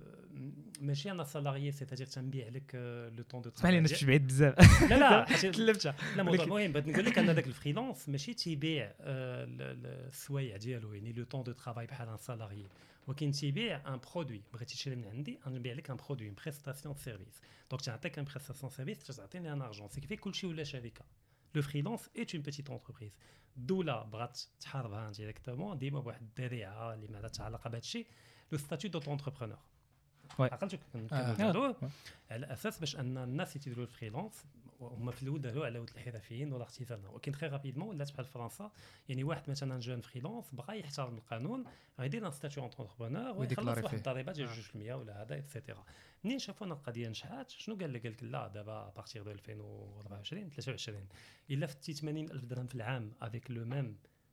ماشي انا سالاريي سيتادير تنبيع لك لو طون دو اسمح لي نمشي بعيد بزاف لا لا تلفتها لا موضوع مهم بغيت نقول لك ان داك الفريلانس ماشي تيبيع السوايع ديالو يعني لو طون دو ترافاي بحال ان سالاريي ولكن تيبيع ان برودوي بغيتي تشري من عندي نبيع لك ان برودوي بريستاسيون سيرفيس دونك تعطيك ان بريستاسيون سيرفيس تعطيني ان ارجون سي كيفي كلشي ولا شركه. لو فريلانس ايت اون بيتيت انتربريز الدوله بغات تحاربها ديريكتومون ديما بواحد الذريعه اللي ما عندها علاقه بهذا الشيء لو ستاتيو دو انتربرونور عقلتو كنهضروا على اساس باش ان الناس اللي تيديروا الفريلانس هما في الاول داروا على ود الحرفيين ولا اختزالنا ولكن تري رابيدمون ولات بحال فرنسا يعني واحد مثلا جون فريلانس بغى يحترم القانون غيدير ان ستاتيو انتربرونور ويخلص واحد الضريبه ديال جوج بالمية ولا هذا اكسيتيرا. منين شافوا ان القضيه نجحات شنو قال لك قال لك لا دابا بارتير دو ألفين وأربعة وعشرين ثلاثة وعشرين الا فتي ثمانين ألف درهم في العام افيك لو ميم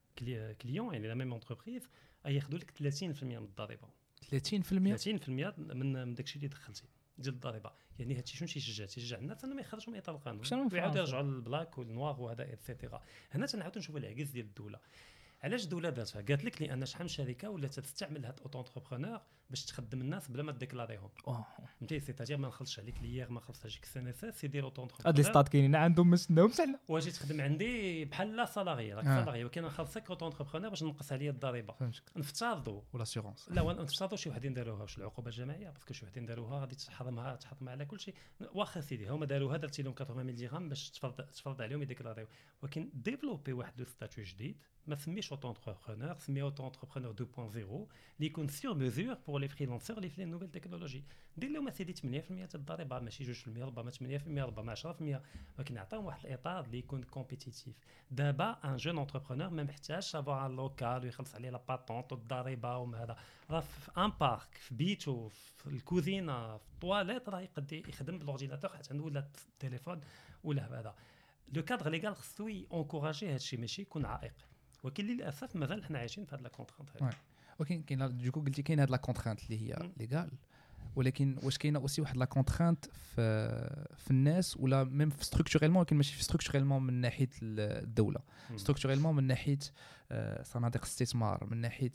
كليون يعني لا ميم انتربريز ياخذوا لك ثلاثين بالمية من الضريبه ثلاثين بالمية ثلاثين بالمية من داكشي اللي دخلتي ديال الضريبه يعني هادشي شنو تيشجع تيشجع الناس انهم يخرجوا من اطار القانون ويعاودوا يرجعوا للبلاك والنوار وهذا اكسيتيرا. هنا تنعاودوا نشوفوا العجز ديال الدوله. علاش الدوله دارتها؟ قالت لك لان شحال من شركه ولا تستعمل هاد اوتو انتربرونور باش تخدم الناس بلا ما ديكلاريهم فهمتي سيتاجير ما نخلصش عليك ليير ما نخلصش عليك سي ان اس اس يدير اوتو انتربرونور هاد لي ستات كاينين عندهم ما سناهمش حنا واجي تخدم عندي بحال لا سالاري راك سالاري ولكن نخلصك اوتو انتربرونور باش نقص عليا الضريبه نفترضوا ولا سيغونس لا نفترضوا شي وحدين داروها واش العقوبه الجماعيه باسكو شي وحدين داروها غادي تحرمها تحرم على كل شيء واخا سيدي هما داروها درتي لهم ثمانين ميل درهم باش تفرض تفرض عليهم يديكلاريو ولكن ديفلوبي واحد لو ستاتيو جديد ما سميش اوتو انتربرونور سميه اوتو انتربرونور اثنين نقطة صفر اللي يكون سور ميزور بور لي فريلانسور اللي في لي نوفيل تكنولوجي دير لهم اسيدي ثمانية بالمية تاع الضريبه ماشي جوج بالمية ربما ثمانية بالمية ربما عشرة بالمية ولكن عطاهم واحد الاطار اللي يكون كومبيتيتيف. دابا ان جون انتربرونور ما محتاجش افوار ان لوكال ويخلص عليه لا باتونط والضريبه وما هذا راه في ان بارك في بيتو في الكوزينه في الطواليت راه يقدر يخدم بالاورديناتور حتى عنده ولا التليفون ولا هذا. لو كادر ليغال خصو انكوراجي هذا الشيء ماشي يكون عائق ولكن للاسف مازال حنا عايشين في هذه لا كونترانت هذه. ولكن كاين دوكو قلتي كاين هذه لا كونترانت اللي هي ليغال ولكن واش كاينه اوسي واحد لا كونترانت في في الناس ولا ميم ستركتوريلمون، ولكن ماشي ستركتوريلمون من ناحيه الدوله، ستركتوريلمون من ناحيه صناديق الاستثمار، من ناحيه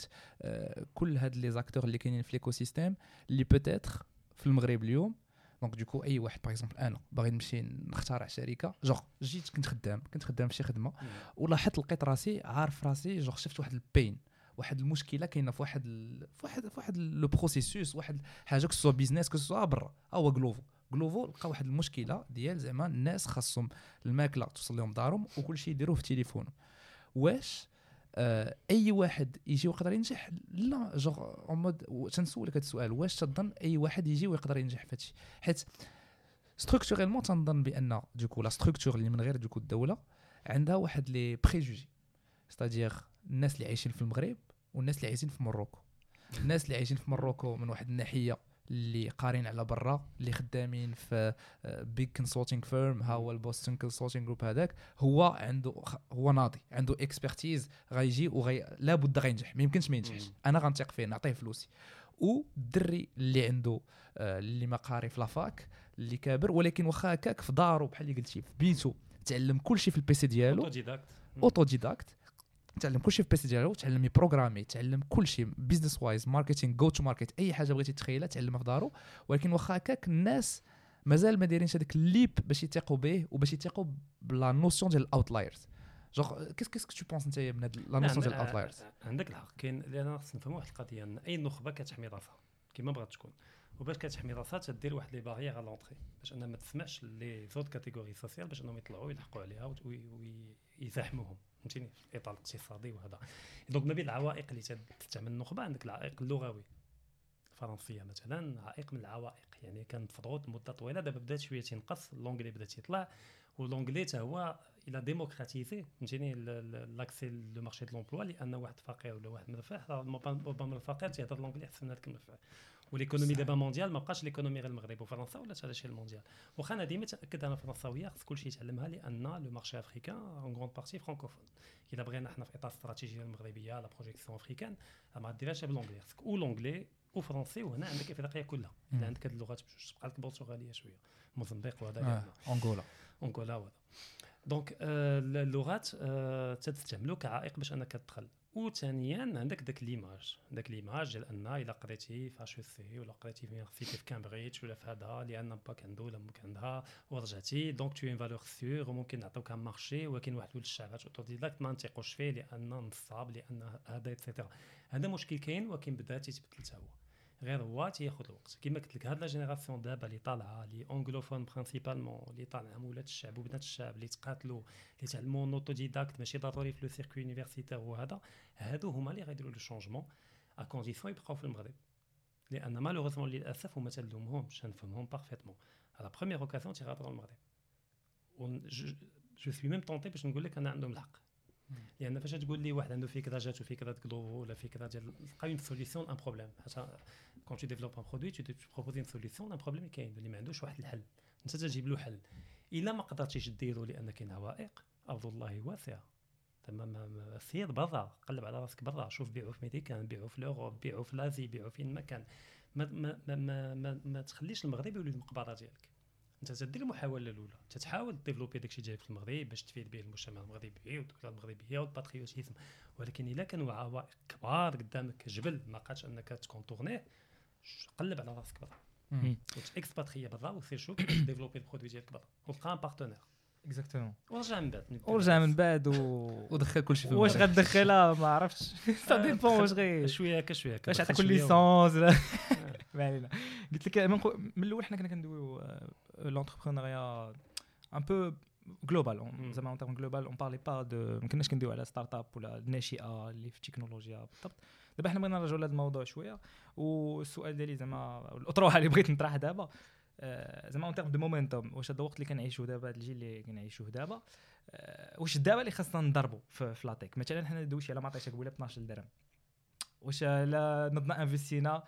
كل هاد لي زاكتور اللي كاينين في ليكو سيستيم اللي بوتيتر في المغرب اليوم. دونك دوكو اي واحد باغ اكزومبل انا باغي نمشي نخترع شركه، جوغ جيت كنت خدام كنت خدام في شي خدمه ولاحظت لقيت راسي عارف راسي، جوغ شفت واحد البين، واحد المشكله كاينه في واحد ال... في واحد في واحد لو بروسيسوس، واحد حاجه كسوا بيزنس كسوا برا، هو غلوفو غلوفو لقى واحد المشكله ديال زعما الناس خاصهم الماكله توصل لهم دارهم وكل شيء يديروه في تليفونه. واش آه اي واحد يجي ويقدر ينجح؟ لا، جوغ اون مود تنسولك هذا السؤال، واش تظن اي واحد يجي ويقدر ينجح في هادشي؟ حيت ستركتوريلمون تنظن بان دوكو لا ستركتور اللي من غير دوكو الدوله عندها واحد لي بريجوجي، ستادير الناس اللي عايشين في المغرب والناس اللي عايشين في مروكو. الناس اللي عايشين في مروكو من واحد الناحيه اللي قارين على برا، اللي خدامين في بيج كونسلتينغ فيرم، ها هو البوستن كونسلتينغ جروب، هذاك هو عنده هو ناضي، عنده اكسبرتيز، غيجي وغي لابد غينجح، ما يمكنش ما ينجحش، انا غنثق فيه نعطيه فلوسي. والدري اللي عنده اللي ما قاري في لافاك، اللي كابر ولكن واخا هكاك في دارو بحال اللي قلتي في بيتو تعلم كل شيء في البيسي ديالو، اوتوديداكت اوتوديداكت تعلم كل شيء في البيسي ديالو، تعلم يبروغرامي، تعلم كل شيء بيزنس وايز، ماركتينغ، جو تو ماركت، اي حاجه بغيتي تخيلها تعلمها في دارو. ولكن واخا هكاك الناس مازال ما دايرينش هذاك الليب باش يثقوا به وباش يثقوا بلا نوسيون ديال الاوتلايرز. جوغ كيس كيس تو بونس انت من هاد لا نوسيون ديال الاوتلايرز؟ عندك الحق، كاين لان خصنا نفهموا واحد القضيه، ان اي نخبه كتحمي راسها كما بغات تكون، وباش كتحمي راسها تدير واحد لي باريير على لونطري باش انها ما تسمعش لي زوت كاتيجوري سوسيال باش انهم يطلعوا يلحقوا عليها ويزاحموهم، فهمتيني، في الاطار الاقتصادي وهذا. دونك ما بين العوائق اللي تستعمل النخبه عندك العائق اللغوي، الفرنسيه مثلا عائق من العوائق، يعني كان مفضوض مده طويله، دابا بدات شويه تنقص، اللونجلي بدا تيطلع، واللونجلي حتى هو الى ديموكراتيزي، فهمتيني، لاكسي لو مارشي دو لومبلوا، لان واحد فقير ولا واحد مرفه، ربما الفقير تيهضر اللونجلي احسن من هذاك المرفه. وليكونومي دابا مونديال ما بقاش ليكونومي غير المغرب وفرنسا، ولا هذا الشيء المونديال. واخا انا ديما تاكد انا فرنساويه خص كلشي يتعلمها، لان لو مارشي افريكان اون غروند بارتي فرانكوفون. الا بغينا احنا في اطار استراتيجيه المغربيه لا بروجيكسيون افريكان ما ديرهاش باللونجلي، خصك او لونجلي او فرنسي، وهنا عندك افريقيا كلها، الا عندك هاد اللغات تبقى لك البرتغاليه شويه، موزمبيق وهذا آه. انغولا انغولا وهذا. دونك آه اللغات آه تستعملوا كعائق باش انك تدخل. وثانيا عندك داك ليماج، داك ليماج ديال ان الا قريتي في اش سي ولا قريتي في يونيفرسيتي في كامبريدج ولا في هذا، لان باك عنده ولا ممكن عندها ورجعتي، دونك تو ان فالور سيغ وممكن نعطيوك مارشي، ولكن واحد ولد الشعبات اوتوديداكت ما نثقوش فيه لان نصاب، لان هذا ايتترا. هذا مشكل كاين، ولكن بدا تيتبدل حتى هو، غير هو تياخذ الوقت. كما قلت لك هاد لا جينيراسيون دابا اللي طالعه لي انغلوفون برينسيبالمون، اللي طالعه ولاد الشعب وبنات الشعب اللي تقاتلوا اللي تعلموا اوتوديداكت ماشي ضروري في لو سيركوي يونيفرسيتير، وهذا هادو هما اللي غيديروا لو شونجمون ا كونديسيون يبقاو في المغرب، لان مالوغوزمون للاسف هما تلومهمش، نفهمهم بارفيتمون على بروميير اوكازيون تيغادروا المغرب. و جو سوي ميم طونطي باش نقول لك انا عندهم الحق، لان فاش تقول لي واحد عنده فكره جاتو فكره غلوفو ولا فكره ديال لقى اون سوليسيون ان بروبليم، حتى كون تو ديفلوب ان برودوي تو بروبوزي اون سوليسيون ان بروبليم كاين اللي ما عندوش واحد الحل، انت تجيب له حل. الا ما قدرتيش ديرو لان كاين عوائق، ارض الله واسعه، تمام، سير برا، قلب على راسك برا، شوف بيعوا في ميديكان، بيعوا في لوروب، بيعوا في لازي، بيعوا فين ما كان، ما ما ما ما, ما تخليش المغرب يولي المقبره ديالك. انت تدير المحاوله الاولى، تتحاول ديفلوبي داكشي جاي في المغرب باش تفيد به المجتمع المغربي والدوله المغربيه والباتريوتيزم، ولكن الا كانوا عوائق كبار قدامك جبل ما قادش انك تكونتورنيه، قلب على راسك برا وتاكسباتريا برا وسير شوف ديفلوبي البرودوي ديالك برا وتلقى ان بارتنير اكزاكتومون، ورجع من بعد ورجع من بعد و... ودخل كل شيء في واش غتدخلها ما عرفتش، سا ديبون واش غير شويه هكا شويه هكا واش عطاك ليسونس ولا ما علينا. قلت لك من الاول حنا كنا كندويو لونتربرونيا ان بو جلوبال، زعما اون تيرم جلوبال، اون بارلي با دو، ما كناش كندويو على ستارت اب ولا الناشئه اللي في التكنولوجيا بالضبط. دابا حنا بغينا نرجعوا لهذا الموضوع شويه، والسؤال ديالي زعما الاطروحه اللي بغيت نطرح دابا زعما اون تيرم دو مومنتوم، واش هذا الوقت اللي كنعيشوه دابا، هذا الجيل اللي كنعيشوه دابا، واش دابا اللي خاصنا نضربوا في لاتيك؟ مثلا حنا ندويش على ما عطيتك قبيله اثناش درهم، واش لا نضنا انفستينا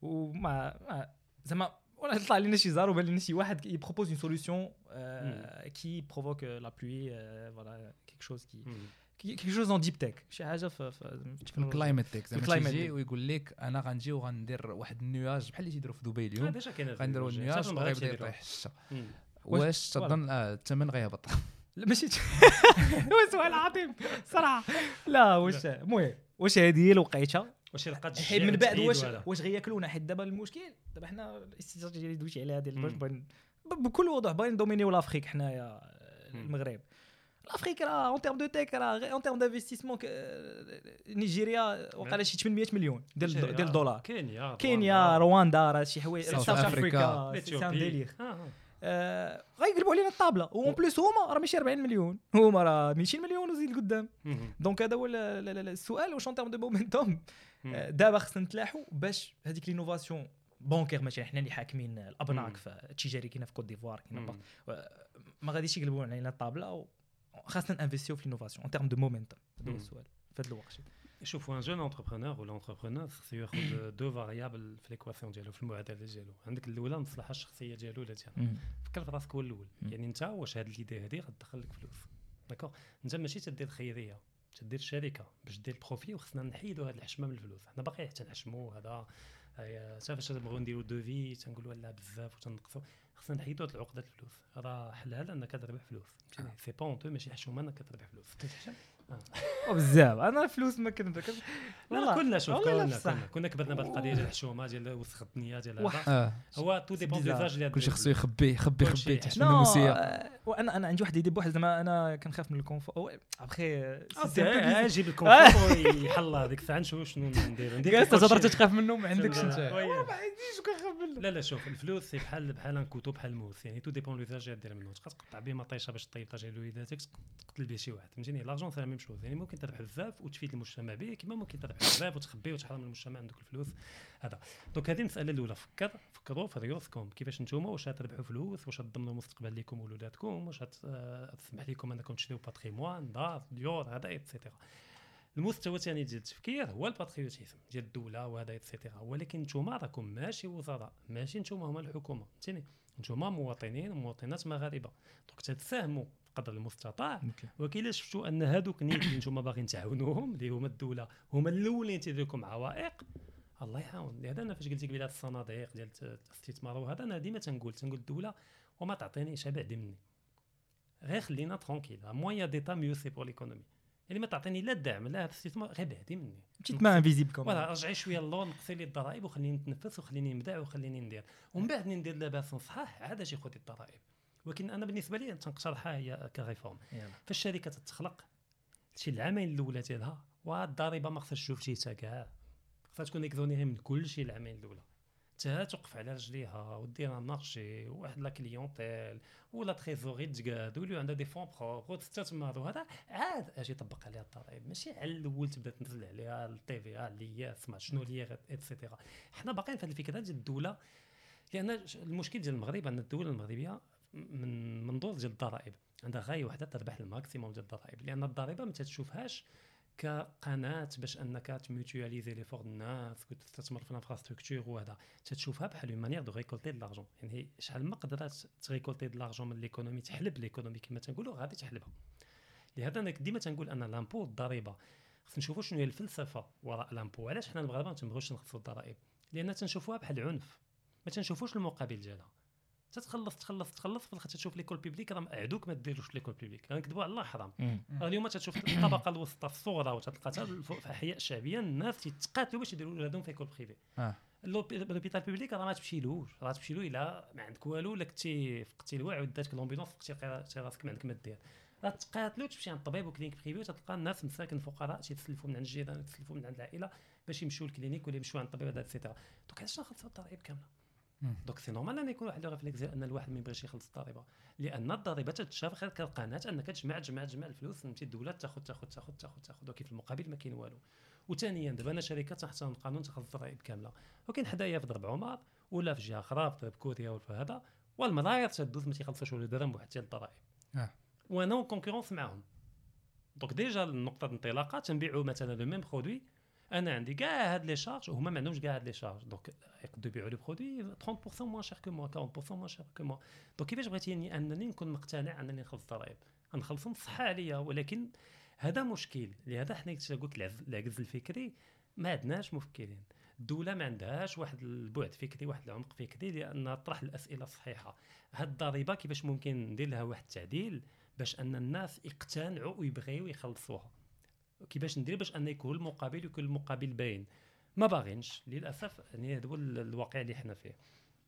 وما زعما ولا طلع لنا شي زار وبان لنا شي واحد يبروبوز اون سوليوشن كي بروفوك لا بلوي، فوالا كيك شوز كي كي شوز اون ديب تك شي حاجه في في الكلايمت تك زعما تيجي ويقول لك انا غنجي وغندير واحد النيواج بحال اللي تيديروا في دبي اليوم غنديروا النيواج وغيبدا يطيح الشتا واش تظن الثمن غيهبط لا ماشي هو سؤال عظيم صراحه لا واش المهم واش هذه هي الوقيته واش لقات حيت من بعد واش واش غياكلونا حيت دابا المشكل دابا حنا الاستراتيجيه اللي دويتي عليها ديال بكل وضوح باين دومينيو لافريك حنايا المغرب الافريك راه اون تيرم دو تيك راه اون تيرم دانفستيسمون نيجيريا وقال شي ثمانمية مليون ديال ديال دولار كينيا كينيا رواندا راه شي حوايج ساوث افريكا سي ان ديلير آه غيقلبوا علينا الطابله اون بليس هما راه ماشي أربعين مليون هما راه مئتين مليون وزيد قدام دونك هذا هو السؤال واش اون تيرم دو مومنتوم دابا خصنا نتلاحوا باش هذيك لينوفاسيون بونكير ماشي حنا اللي حاكمين الابناك في التجاري كاينه في كوت ديفوار كاينه ما غاديش يقلبوا علينا الطابله خاصنا نانفيستيو في لينوفاسيون ان تيرم دو مومنتوم هذا هو السؤال في هذا الوقت شوفوا ان جون انتربرونور ولا انتربرونور خصو ياخذ دو فاريابل في ليكواسيون ديالو في المعادله ديالو عندك الاولى المصلحه الشخصيه ديالو ولا ديالها فكر في راسك هو الاول يعني انت واش هاد ليدي هادي غتدخل لك فلوس داكوغ انت ماشي تدير خيريه تدير الشركه باش دير البروفي وخصنا نحيدوا هاد الحشمه من الفلوس حنا باقي حتى نحشموا هذا حتى فاش نبغيو نديروا دوفي تنقولوا لا بزاف وتنقصوا خصنا نحيدوا هاد العقده الفلوس راه حلها لانك تربح فلوس سي با اونتو ماشي حشومه انك تربح فلوس بزاف انا الفلوس ما كنت لا كلنا شوف كلنا كنا كبرنا بهذه القضيه ديال الحشومه ديال وسخ الدنيا ديال هذا هو تو ديبون ديزاج اللي كلشي خصو يخبي يخبي يخبي تحشم النموسيه وانا انا عندي واحد يدي بواحد زعما انا كنخاف من الكونفور ابخي جيب الكونفور يحل هذيك الساعه نشوف شنو ندير ندير انت تهضر تخاف منه ما عندكش انت ما عنديش كنخاف منه لا لا شوف الفلوس سي بحال بحال ان كوتو بحال الموس يعني تو ديبون لوزاج اللي دير منه تقدر تقطع به مطيشه باش طيب طاجه لوليداتك تقتل به شي واحد فهمتيني لارجون سي لا ميم شوز يعني ممكن تربح بزاف وتفيد المجتمع به كما ممكن تربح بزاف وتخبي وتحرم المجتمع عندك الفلوس هذا دونك هذه المساله الاولى فكر فكروا في ريوسكم كيفاش نتوما واش تربحوا فلوس واش تضمنوا المستقبل لكم وولاداتكم واش تسمح لكم انكم تشريوا باتريموان دار ديور هذا ايتترا المستوى الثاني ديال التفكير هو الباتريوتيزم ديال الدوله وهذا ايتترا ولكن نتوما راكم ماشي وزراء ماشي نتوما هما الحكومه فهمتيني نتوما مواطنين ومواطنات مغاربه دونك تتساهموا قدر المستطاع وكي الا شفتوا ان هذوك الناس اللي نتوما باغيين تعاونوهم اللي هما الدوله هما الاولين تيديروا لكم عوائق الله يعاون لهذا انا فاش قلت لك بلاد الصناديق ديال الاستثمار وهذا انا ديما تنقول تنقول الدوله وما تعطينيش بعدي مني غير خلينا ترونكيل مويا ديتا ميو سي بور ليكونومي يعني ما تعطيني لا الدعم لا الاستثمار غير بعدي مني مشيت ما انفيزيبل كوم فوالا رجعي شويه اللور نقصي لي الضرائب وخليني نتنفس وخليني نبدع وخليني ندير ومن بعد ندير لاباس صحاح عاد اجي خذي الضرائب ولكن انا بالنسبه لي تنقترحها هي كريفورم فالشركه تتخلق شي العامين الاولى ديالها والضريبه ما خصهاش تشوف شي كاع خصها تكون اكزونيري من كل شيء العامين الاولى حتى توقف على رجليها ودير مارشي واحد لا كليونتيل ولا تريزوري تقاد ولي عندها دي فون بروبر وتستثمر وهذا عاد اجي طبق عليها الضرائب ماشي على الاول تبدا تنزل عليها التي في اللي سمع شنو لي ايتترا حنا باقيين في هذه الفكره ديال الدوله لان المشكل ديال المغرب ان الدوله المغربيه من منظور ديال الضرائب عندها غايه وحده تربح الماكسيموم ديال الضرائب لان الضريبه ما تشوفهاش كقناه باش انك تميوتواليزي لي فور الناس وتستثمر في الانفراستركتور وهذا تتشوفها بحال اون مانيير دو ريكولتي د لارجون يعني شحال ما قدرات تريكولتي د لارجون من ليكونومي تحلب ليكونومي كما تنقولوا غادي تحلبها لهذا انا ديما تنقول ان لامبو الضريبه خصنا نشوفوا شنو هي الفلسفه وراء لامبو علاش حنا المغاربه ما تنبغيوش نخصوا الضرائب لان تنشوفوها بحال عنف ما تنشوفوش المقابل ديالها تتخلص تخلص تخلص في الاخر تشوف ليكول بيبليك راه عدوك ما ديروش ليكول بيبليك غنكذبوا على الله حرام اليوم تشوف الطبقه الوسطى الصغرى وتلقى في الاحياء الشعبيه الناس تيتقاتلوا باش يديروا ولادهم في ليكول بريفي لوبيتال بيبليك راه ما تمشيلوش راه تمشي له الا ما عندك والو ولا كنتي فقتي الوعي وداتك لومبيلونس فقتي راسك ما عندك ما دير راه تقاتلوا تمشي عند الطبيب وكلينيك بريفي وتلقى الناس مساكن فقراء تيتسلفوا من عند الجيران تيتسلفوا من عند العائله باش يمشيو للكلينيك ولا يمشيو عند الطبيب هذا ايتترا دونك علاش نخلصوا الضرائب كامله دونك سي نورمال ان يكون واحد الريفلكس ان الواحد ما يبغيش يخلص الضريبه لان الضريبه تتشاف غير كقناه انك تجمع تجمع تجمع الفلوس فهمتي الدوله تاخذ تاخذ تاخذ تاخذ تاخذ ولكن في المقابل ما كاين والو وثانيا دابا انا شركه تحت القانون تاخذ الضرائب كامله وكاين حدايا في ضرب عمر ولا في جهه اخرى في كوريا ولا في هذا والملايير تدوز ما تيخلصوش ولا درهم واحد ديال الضرائب اه وانا كونكورونس معاهم دونك ديجا النقطه الانطلاقه تنبيعوا مثلا لو ميم برودوي انا عندي كاع هاد لي شارج وهما ما عندهمش كاع هاد لي شارج دونك يقدروا يبيعوا لي برودوي ثلاثين بالمئة موان شير كو موا أربعين بالمئة موان شير كو موا دونك كيفاش بغيتيني انني نكون مقتنع انني نخلص الضرائب غنخلصهم صحه عليا ولكن هذا مشكل. لهذا حنا قلت العجز الفكري ما عندناش مفكرين. الدوله ما عندهاش واحد البعد فكري واحد العمق فكري لان طرح الاسئله الصحيحه. هاد الضريبه كيفاش ممكن ندير لها واحد التعديل باش ان الناس يقتنعوا ويبغيو يخلصوها؟ كيفاش ندير باش ان يكون المقابل يكون المقابل باين؟ ما باغينش للاسف. يعني هذا هو الواقع اللي حنا فيه.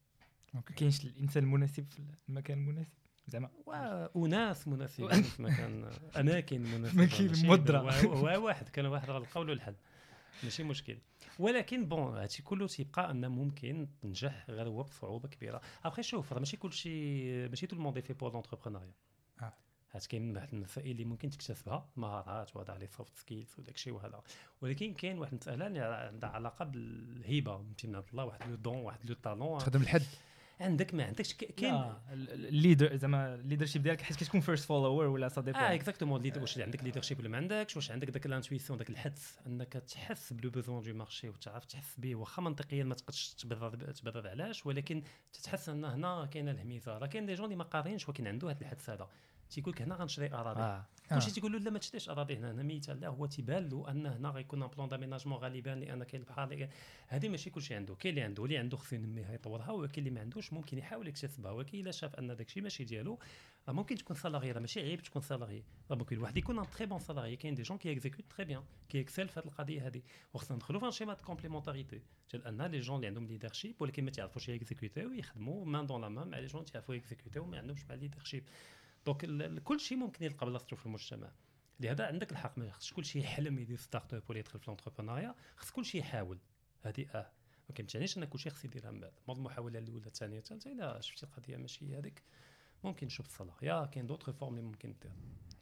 ما كاينش الانسان المناسب في المكان المناسب زعما وناس مناسبين في مكان اماكن مناسبه. ما كاين مدرة واحد كان واحد القول والحل ماشي مشكل. ولكن بون هادشي كله تيبقى ان ممكن تنجح غير هو بصعوبه كبيره. ابخي شوف راه ماشي كلشي ماشي تو الموند في بور لونتربرونيا. اه هاد كاين واحد المسائل اللي ممكن تكتسبها مهارات وهذا لي سوفت سكيلز وداك الشيء وهذا. ولكن كاين واحد المساله اللي عندها علاقه بالهبه من عند الله. واحد لو دون واحد لو طالون تخدم الحد عندك ما عندكش. كاين الليدر زعما الليدرشيب ديالك حيت كتكون فيرست فولوور ولا صا ديبون. اه اكزاكتومون ليدر. واش عندك ليدرشيب ولا ما عندكش؟ واش عندك داك الانتويسيون داك الحدس انك تحس بلو بوزون دو مارشي وتعرف تحس به واخا منطقيا ما تقدرش تبرر تبرر علاش، ولكن تتحس ان هنا كاينه الهميزه. راه كاين دي جون اللي ما قارينش ولكن عنده هذا الحدس هذا تيقول لك هنا غنشري اراضي. آه. كلشي آه. تيقول له لا ما تشريش اراضي هنا. انا مثال لا هو تيبان له ان هنا غيكون ان بلان داميناجمون غالبا لان كاين البحر. هذه ماشي كلشي عنده. كاين اللي عنده اللي عنده خصو ينميها يطورها، وكاين اللي ما عندوش ممكن يحاول يكتسبها. ولكن الا شاف ان داكشي ماشي ديالو راه ممكن تكون سالاري. راه ماشي عيب تكون سالاري. راه ممكن الواحد يكون ان تري بون سالاري. كاين دي جون كي اكزيكوت تري بيان كي اكسل في هذه القضيه هذه. وخصنا ندخلوا في شيما دو كومبليمونتاريتي ديال ان لي جون اللي عندهم ليدرشيب ولكن ما تعرفوش اكزيكوتيو يخدموا مان دون لا مان مع لي جون تعرفوا اكزيكوتيو ما عندهمش مع ليدرشيب. دونك كل شيء ممكن يلقى بلاصتو في المجتمع. لهذا عندك الحق ما خصش كل شيء يحلم يدير ستارت اب ولا يدخل في الانتربرونيا. خص كل شيء يحاول. هذه اه ما كيمتعنيش ان كل شيء خص يديرها من بعد. موضوع المحاوله الاولى الثانيه الثالثه الا شفتي القضيه ماشي هذيك ممكن نشوف الصلاح. يا كاين دوطر فورم اللي ممكن دير.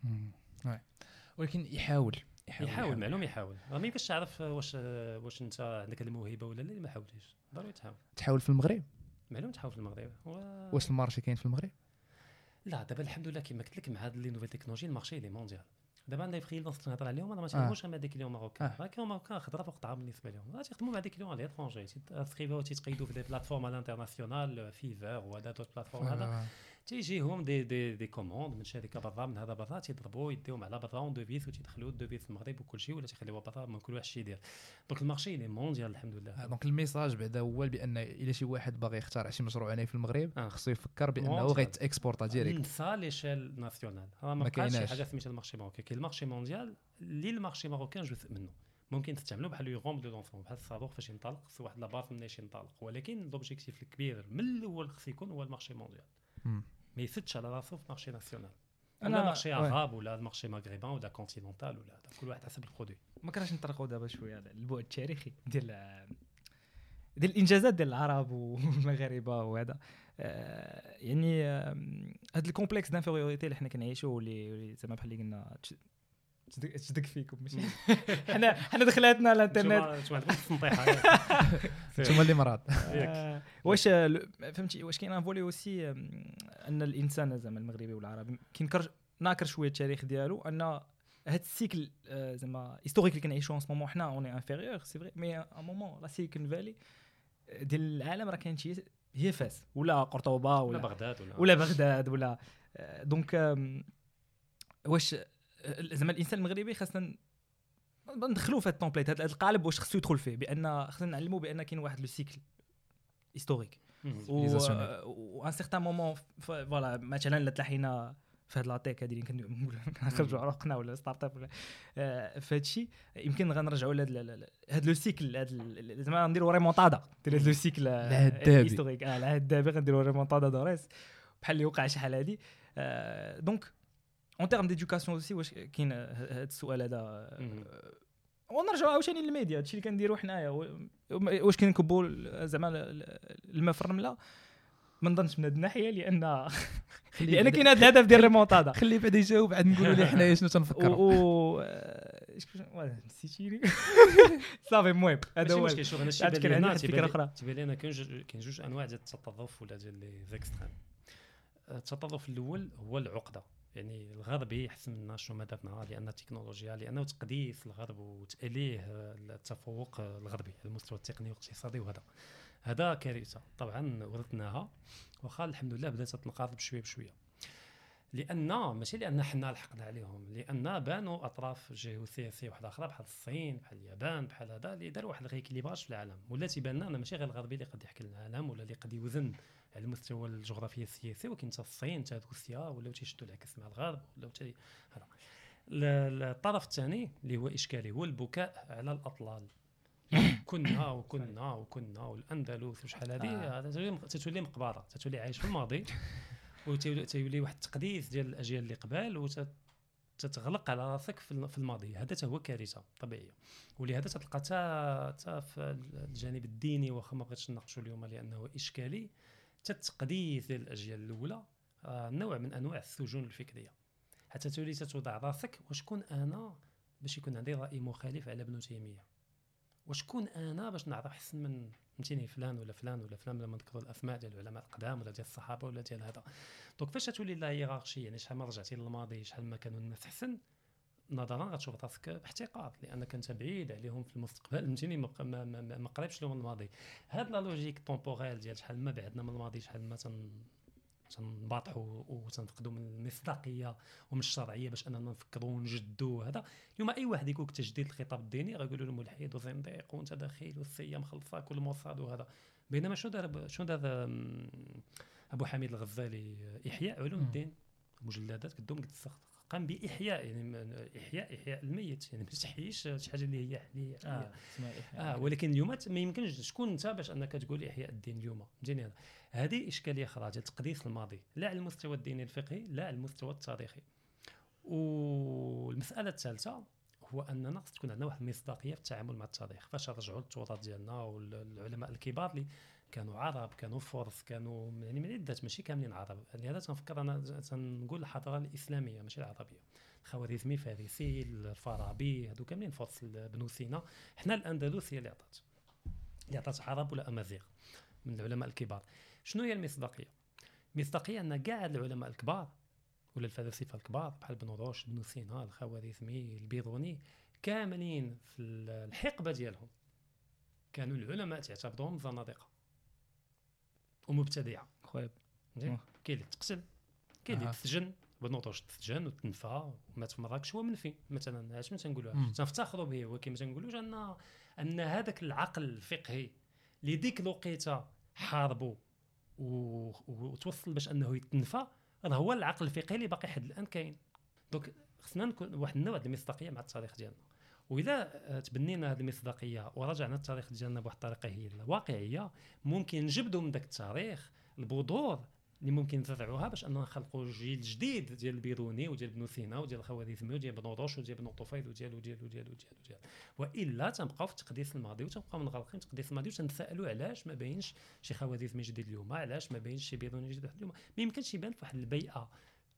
وي ولكن يحاول يحاول, يحاول معلوم يحاول. راه ما يمكنش تعرف واش واش انت عندك الموهبه ولا لا. ما حاولتيش ضروري تحاول. تحاول في المغرب معلوم تحاول في المغرب. و... واش المارشي كاين في المغرب؟ لا دابا الحمد لله كما قلت لك مع هاد لي نوفيل تكنولوجي المارشي لي مونديال. دابا عندنا فريلانس نهضر عليهم انا ما تعرفوش مع دي كليون ماروكان. راه كليون ماروكان خضره فوق طعام بالنسبه لهم. راه تيخدموا مع دي كليون على ليترونجي تيسكريبيو تيتقيدوا في دي بلاتفورم على الانترناسيونال فيفر وهذا دوت بلاتفورم هذا تيجيهم دي دي دي كوموند من شركه برا من هذا برا تيضربوا يديهم على برا اون دوفيس وتيدخلوا الدوفيس في المغرب وكل شيء ولا تيخليوها برا من كل واحد شي يدير. دونك المارشي لي مونديال الحمد لله. دونك الميساج بعدا هو بان الا شي واحد باغي يخترع شي مشروع هنا في المغرب آه. خصو يفكر بانه غيتاكسبورتا ديريكت نسى ليشيل ناسيونال. راه ما بقاش شي حاجه سميتها المارشي ماروكان. كاين المارشي مونديال اللي المارشي ماروكان جزء منه ممكن تستعملوا بحال يغوم دو لونسون بحال الصاروخ فاش ينطلق خصو واحد لاباس منين ينطلق. ولكن لوبجيكتيف الكبير من الاول خص يكون هو المارشي مونديال. ما يسدش على راسو في مارشي ناسيونال. انا مارشي عرب ولا مارشي مغربان ولا كونتينونتال ولا كل واحد حسب البرودوي. ما كرهش نطرقوا دابا شويه على البعد التاريخي ديال ديال الانجازات ديال العرب والمغاربه وهذا. آه يعني هذا الكومبلكس دانفيريوريتي اللي حنا كنعيشوه اللي زعما بحال اللي قلنا تشدك فيكم ماشي حنا حنا دخلاتنا على الانترنت انتما عندكم التنطيحه انتما اللي مراد. واش فهمتي واش كاين ان فولي اوسي ان الانسان زعما المغربي والعربي كينكر ناكر شويه التاريخ ديالو ان هاد السيكل زعما هيستوريك اللي كنعيشوه ان سمومون حنا اوني انفيريور سي فري مي ان مومون لا سيليكون فالي ديال العالم راه كانت هي فاس ولا قرطبه ولا بغداد ولا ولا بغداد ولا دونك واش زعما الانسان المغربي خاصنا ندخلوا في هاد التومبليت هاد القالب واش خصو يدخل فيه بان خصنا نعلموا بان كاين واحد لو سيكل هيستوريك و ان سيغتان مومون فوالا مثلا الا تلاحينا في هاد لاطيك هادي اللي كنخرجوا عروقنا ولا ستارت اب ولا في هادشي يمكن غنرجعوا لهاد هاد لو سيكل هاد زعما نديروا ريمونطادا ديال هاد لو سيكل هيستوريك اه العهد الذهبي غنديروا ريمونطادا دوريس بحال اللي وقع شحال هادي دونك اون تيرم ديدوكاسيون اوسي واش كاين هذا السؤال هذا ونرجعوا عاوتاني للميديا هادشي اللي كنديروا حنايا واش كنكبوا زعما الماء في الرمله ما نظنش من هذه الناحيه لان لان كاين هذا الهدف ديال الريمونطادا. خلي بعدا يجاوب عاد نقولوا ليه حنايا شنو تنفكروا و نسيتيني صافي المهم هذا هو ماشي شوف انا شي كان عندي فكره اخرى تبان لي انا كاين كاين جوج انواع ديال التطرف ولا ديال لي زيكستريم. التطرف الاول هو العقده يعني الغرب يحسن لنا شنو ما درنا لان التكنولوجيا لانه تقديس الغرب وتاليه التفوق الغربي على المستوى التقني والاقتصادي وهذا هذا كارثه طبعا ورثناها واخا الحمد لله بدات تنقرض بشويه بشويه. لان ماشي لان حنا لحقنا عليهم، لان بانوا اطراف جيوسياسيه واحده اخرى بحال الصين بحال اليابان بحال هذا اللي داروا واحد الريكليباج في العالم، ولا تيبان لنا ماشي غير الغربي اللي قد يحكي العالم ولا اللي قد يوزن على المستوى الجغرافي السياسي، ولكن حتى الصين حتى روسيا ولاو تيشدوا العكس مع الغرب ولاو تي هذا. الطرف الثاني اللي هو اشكالي هو البكاء على الاطلال. كنا وكنا وكنا والاندلس وشحال هذه هذا تتولي مقبره، تتولي عايش في الماضي وتولي واحد التقديس ديال الاجيال اللي قبل وتتغلق على راسك في الماضي. هذا هو كارثه طبيعيه، ولهذا تلقى حتى في الجانب الديني واخا ما بغيتش نناقشوا اليوم لانه اشكالي، التقديس ديال الاجيال الاولى نوع من انواع السجون الفكريه، حتى تولي تتوضع راسك وشكون انا باش يكون عندي راي مخالف على ابن تيميه، وشكون انا باش نعرف احسن من فهمتيني فلان ولا فلان ولا فلان لما نذكروا الاسماء ديال العلماء القدام ولا ديال الصحابه ولا ديال هذا. دونك فاش تولي لا هيرارشي، يعني شحال ما رجعتي للماضي شحال ما كانوا الناس احسن نظرا غتشوف راسك باحتقار لانك انت بعيد عليهم في المستقبل، فهمتيني ما, ما, ما, ما قريبش لهم الماضي. هاد لا لوجيك طومبوريل ديال شحال ما بعدنا من الماضي شحال ما تن تنباطحوا وتنفقدوا من المصداقيه ومن الشرعيه باش اننا نفكروا ونجدوا. هذا اليوم اي واحد يقول لك تجديد الخطاب الديني غيقولوا له ملحد وزنديق وانت داخل والسيه مخلصاك والموصاد وهذا. بينما شنو دار شنو دار ابو حميد الغزالي احياء علوم الدين، مجلدات قدهم قد السخط، قام باحياء يعني احياء احياء الميت، يعني ما تحييش شي حاجه اللي هي حليه اه, آه ولكن اليوم ما يمكنش شكون انت باش انك تقول احياء الدين اليوم. فهمتيني هذا هذه اشكاليه اخرى ديال تقديس الماضي، لا على المستوى الديني الفقهي لا على المستوى التاريخي. والمساله الثالثه هو اننا خص تكون عندنا واحد المصداقيه في التعامل مع التاريخ. فاش نرجعوا للتراث ديالنا والعلماء الكبار اللي كانوا عرب كانوا فرس كانوا يعني من عدة ماشي كاملين عرب، لهذا تنفكر انا تنقول الحضاره الاسلاميه ماشي العربيه، الخوارزمي فارسي الفارابي هادو كاملين فرس بنو سينا. حنا الاندلس هي اللي عطات اللي عطات عرب ولا امازيغ من العلماء الكبار. شنو هي المصداقيه؟ المصداقيه ان كاع العلماء الكبار ولا الفلاسفه الكبار بحال ابن رشد بنو سينا الخوارزمي البيروني كاملين في الحقبه ديالهم كانوا العلماء تعتبرهم زنادقه ومبتدعه. خويا كاين اللي تقتل كاين اللي تسجن، بن رشد تسجن وتنفى ومات في مراكش هو منفي مثلا. اش ما تنقولوها تنفتخروا به، ولكن ما تنقولوش ان ان هذاك العقل الفقهي اللي ديك الوقيته حاربوا وتوصل باش انه يتنفى هذا هو العقل الفقهي اللي باقي حد الان كاين. دونك خصنا نكون واحد النوع ديال المصداقيه مع التاريخ ديالنا، واذا تبنينا هذه المصداقيه ورجعنا التاريخ ديالنا بواحد الطريقه هي الواقعيه ممكن نجبدوا من ذاك التاريخ البذور اللي ممكن نزرعوها باش اننا نخلقوا جيل جديد ديال البيروني وديال ابن سينا وديال الخوارزمي وديال ابن رشد وديال ابن طفيل وديال وديال وديال وديال وديال والا تنبقاو في تقديس الماضي وتنبقاو منغلقين تقديس الماضي وتنسالوا علاش ما باينش شي خوارزمي جديد اليوم، علاش ما باينش شي بيروني جديد اليوم. ما يمكنش يبان في واحد البيئه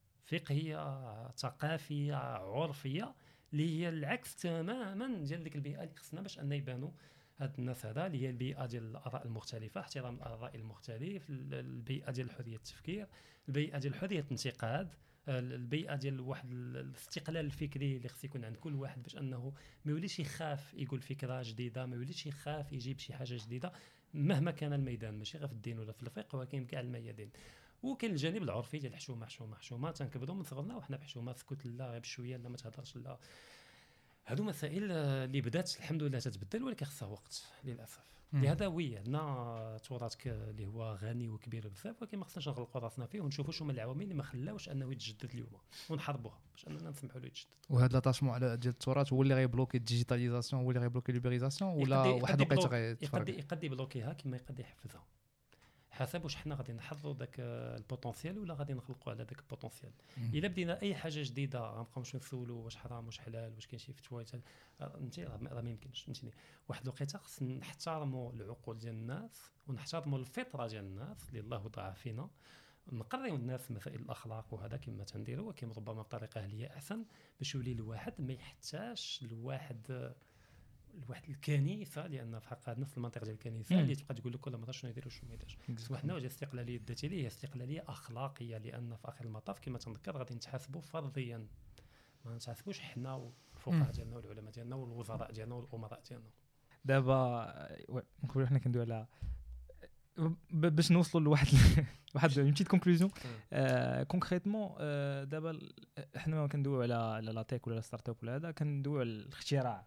فقهيه ثقافيه عرفيه اللي هي العكس تماما ديال ديك البيئه اللي خصنا باش ان يبانوا هاد الناس هذا اللي هي البيئه ديال الاراء المختلفه، احترام الاراء المختلف، البيئه ديال حريه التفكير، البيئه ديال حريه الانتقاد، البيئه ديال واحد الاستقلال الفكري اللي خص يكون عند كل واحد باش انه ما يوليش يخاف يقول فكره جديده، ما يوليش يخاف يجيب شي حاجه جديده مهما كان الميدان، ماشي غير في الدين ولا في الفقه ولكن كاع الميادين. وكاين الجانب العرفي ديال حشومه حشومه حشومه تنكبدوا من صغرنا وحنا بحشومه سكت لا غير بشويه لا ما تهضرش لا. هادو مسائل اللي بدات الحمد لله تتبدل ولكن خصها وقت للاسف. لهذا وي عندنا تراث اللي هو غني وكبير بزاف ولكن ما خصناش نغلقوا راسنا فيه ونشوفوا شنو هما العوامل اللي ما خلاوش انه يتجدد اليوم ونحاربوها باش اننا نسمحوا له يتجدد. وهذا لاتاشمون على ديال التراث هو اللي غيبلوكي الديجيتاليزاسيون، هو اللي غيبلوكي ليبريزاسيون ولا واحد الوقيته غيتفرق؟ يقدر يقدر يبلوكيها كما يقدر يحفزها حسب واش حنا غادي نحفظوا داك البوتونسيال ولا غادي نخلقوا على داك البوتونسيال. الا بدينا اي حاجه جديده غنبقاو نمشيو نسولوا واش حرام واش حلال واش كاين شي فتوى فهمتي راه ما يمكنش. فهمتيني واحد الوقيته خص نحترموا العقول ديال الناس ونحترموا الفطره ديال الناس اللي الله وضعها فينا، نقريو الناس مسائل الاخلاق وهذا كما تنديروا ولكن ربما بطريقه هي احسن باش يولي الواحد ما يحتاجش لواحد الواحد الكنيسه، لان في حق نفس المنطقه ديال الكنيسه اللي تبقى تقول لك كل مره شنو يديروا شنو ما يديرش. واحد نوع ديال الاستقلاليه الذاتيه هي استقلاليه اخلاقيه، لان في اخر المطاف كما تنذكر غادي نتحاسبوا فرضيا ما نتحاسبوش حنا والفقهاء ديالنا والعلماء ديالنا والوزراء ديالنا والامراء ديالنا. دابا نقولوا حنا كندويو على باش نوصلوا لواحد واحد اون بيتيت كونكلوزيون كونكريتمون. دابا احنا ما كندويو على على لا تيك ولا ستارت اب ولا هذا، كندويو على الاختراع.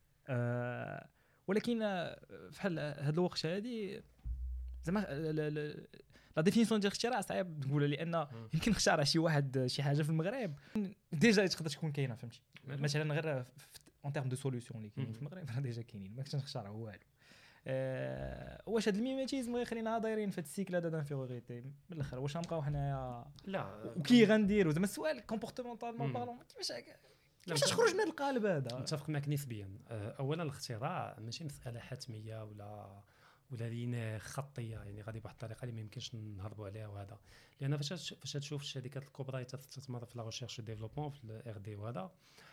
أه ولكن فحال هاد الوقت هادي زعما لا ديفينيسيون ديال الاختراع صعيب تقولها، لان يمكن نخترع شي واحد شي حاجه في المغرب ديجا تقدر تكون كاينه، فهمتي؟ مثلا غير اون تيرم دو سوليوشن اللي كاينين في المغرب راه ديجا كاينين، ما كنتش نخترعوا والو. أه واش هاد الميماتيزم غيخلينا دايرين في هاد السيكل هذا دانفيغوريتي من الاخر؟ واش غنبقاو حنايا لا وكي غنديروا زعما السؤال كومبورتمونطالمون بارلون كيفاش كيفاش تخرج من القالب هذا؟ متفق معك نسبيا. اولا الاختراع ماشي مساله حتميه ولا ولا لينا خطيه، يعني غادي بواحد الطريقه اللي ما يمكنش نهربوا عليها وهذا، لان فاش فاش تشوف الشركات الكبرى اللي تستثمر في لا ريشيرش ديفلوبمون في الار دي وهذا،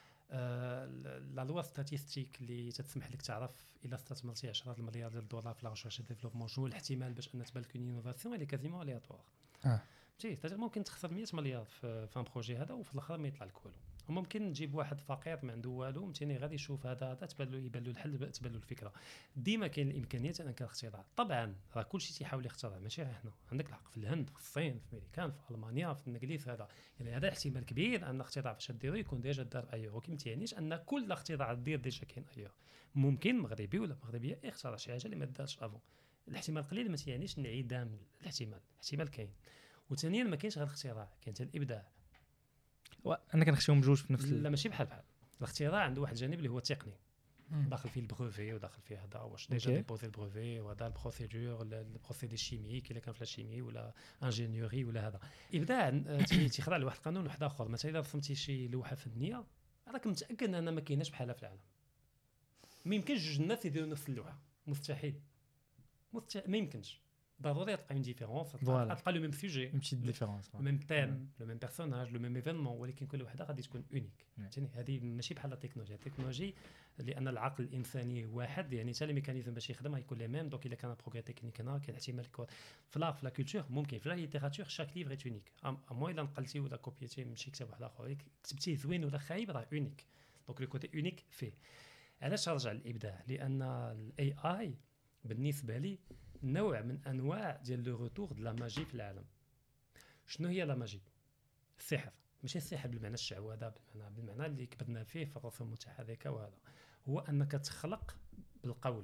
لا لوا ستاتيستيك اللي تسمح لك تعرف الا استثمرتي عشرة المليار ديال الدولار في لا ريشيرش ديفلوبمون شنو الاحتمال باش ان تبان لك اون انوفاسيون اللي كازيمون الياتوار. اه تي ممكن تخسر مية مليار في ان بروجي هذا وفي الاخر ما يطلع لك والو. وممكن تجيب واحد فقير ما عنده والو مثلا غادي يشوف هذا هذا تبان له يبان له الحل، تبان له الفكره. ديما كاين الامكانيات انك تخترع. طبعا راه كلشي تيحاول يخترع، ماشي غير حنا، عندك الحق في الهند في الصين في امريكان في المانيا في الانجليز هذا، يعني هذا احتمال كبير ان الاختراع فاش ديرو يكون ديجا دار ايور، ولكن ما تعنيش ان كل اختراع دير ديجا كاين ايور. ممكن مغربي ولا مغربيه يخترع شي حاجه اللي ما دارش افون، الاحتمال قليل، ما تعنيش انعدام الاحتمال، الاحتمال كاين. وثانيا ما كاينش غير الاختراع، كاين حتى الابداع. وانا كنخشيهم بجوج في نفس لا ماشي بحال بحال. الاختراع عنده واحد الجانب اللي هو تقني، داخل فيه البروفي وداخل فيه هذا واش ديجا ديبوزي البروفي وهذا البروسيدور البروسيدي الشيميك الا كان في الشيمي ولا انجينيوري ولا هذا. ابداع تيخضع لواحد القانون واحد اخر. مثلا اذا رسمتي شي لوحه فنيه راك متاكد ان ما كايناش بحالها في العالم، ما يمكنش جوج الناس يديروا نفس اللوحه، مستحيل مست... ما يمكنش. ضروري تلقى اون ديفيرونس، تلقى لو ميم سوجي ماشي ديفيرونس، لو ميم تيم لو ميم بيرسوناج لو ميم ايفينمون، ولكن كل وحده غادي تكون اونيك. فهمتني؟ هذه ماشي بحال التكنولوجيا. التكنولوجي لان العقل الانساني واحد، يعني حتى الميكانيزم باش يخدم غيكون لي ميم. دونك الا كان بروغري تكنيك هنا كاين احتمال يكون في لا في لا كولتور، ممكن في لا ليتيراتور شاك ليفر اونيك. اما الا نقلتي ولا كوبيتي من شي كتاب واحد اخر كتبتيه زوين ولا خايب راه اونيك. دونك لو كوتي اونيك فيه. علاش نرجع للابداع؟ لان الاي اي بالنسبه لي نوع من انواع ديال لو روتور دو لا ماجي في العالم. شنو هي لا ماجي؟ السحر، ماشي السحر بالمعنى الشعوذه، بالمعنى بالمعنى اللي كبرنا فيه في الرسوم المتحركه، وهذا هو انك تخلق بالقول.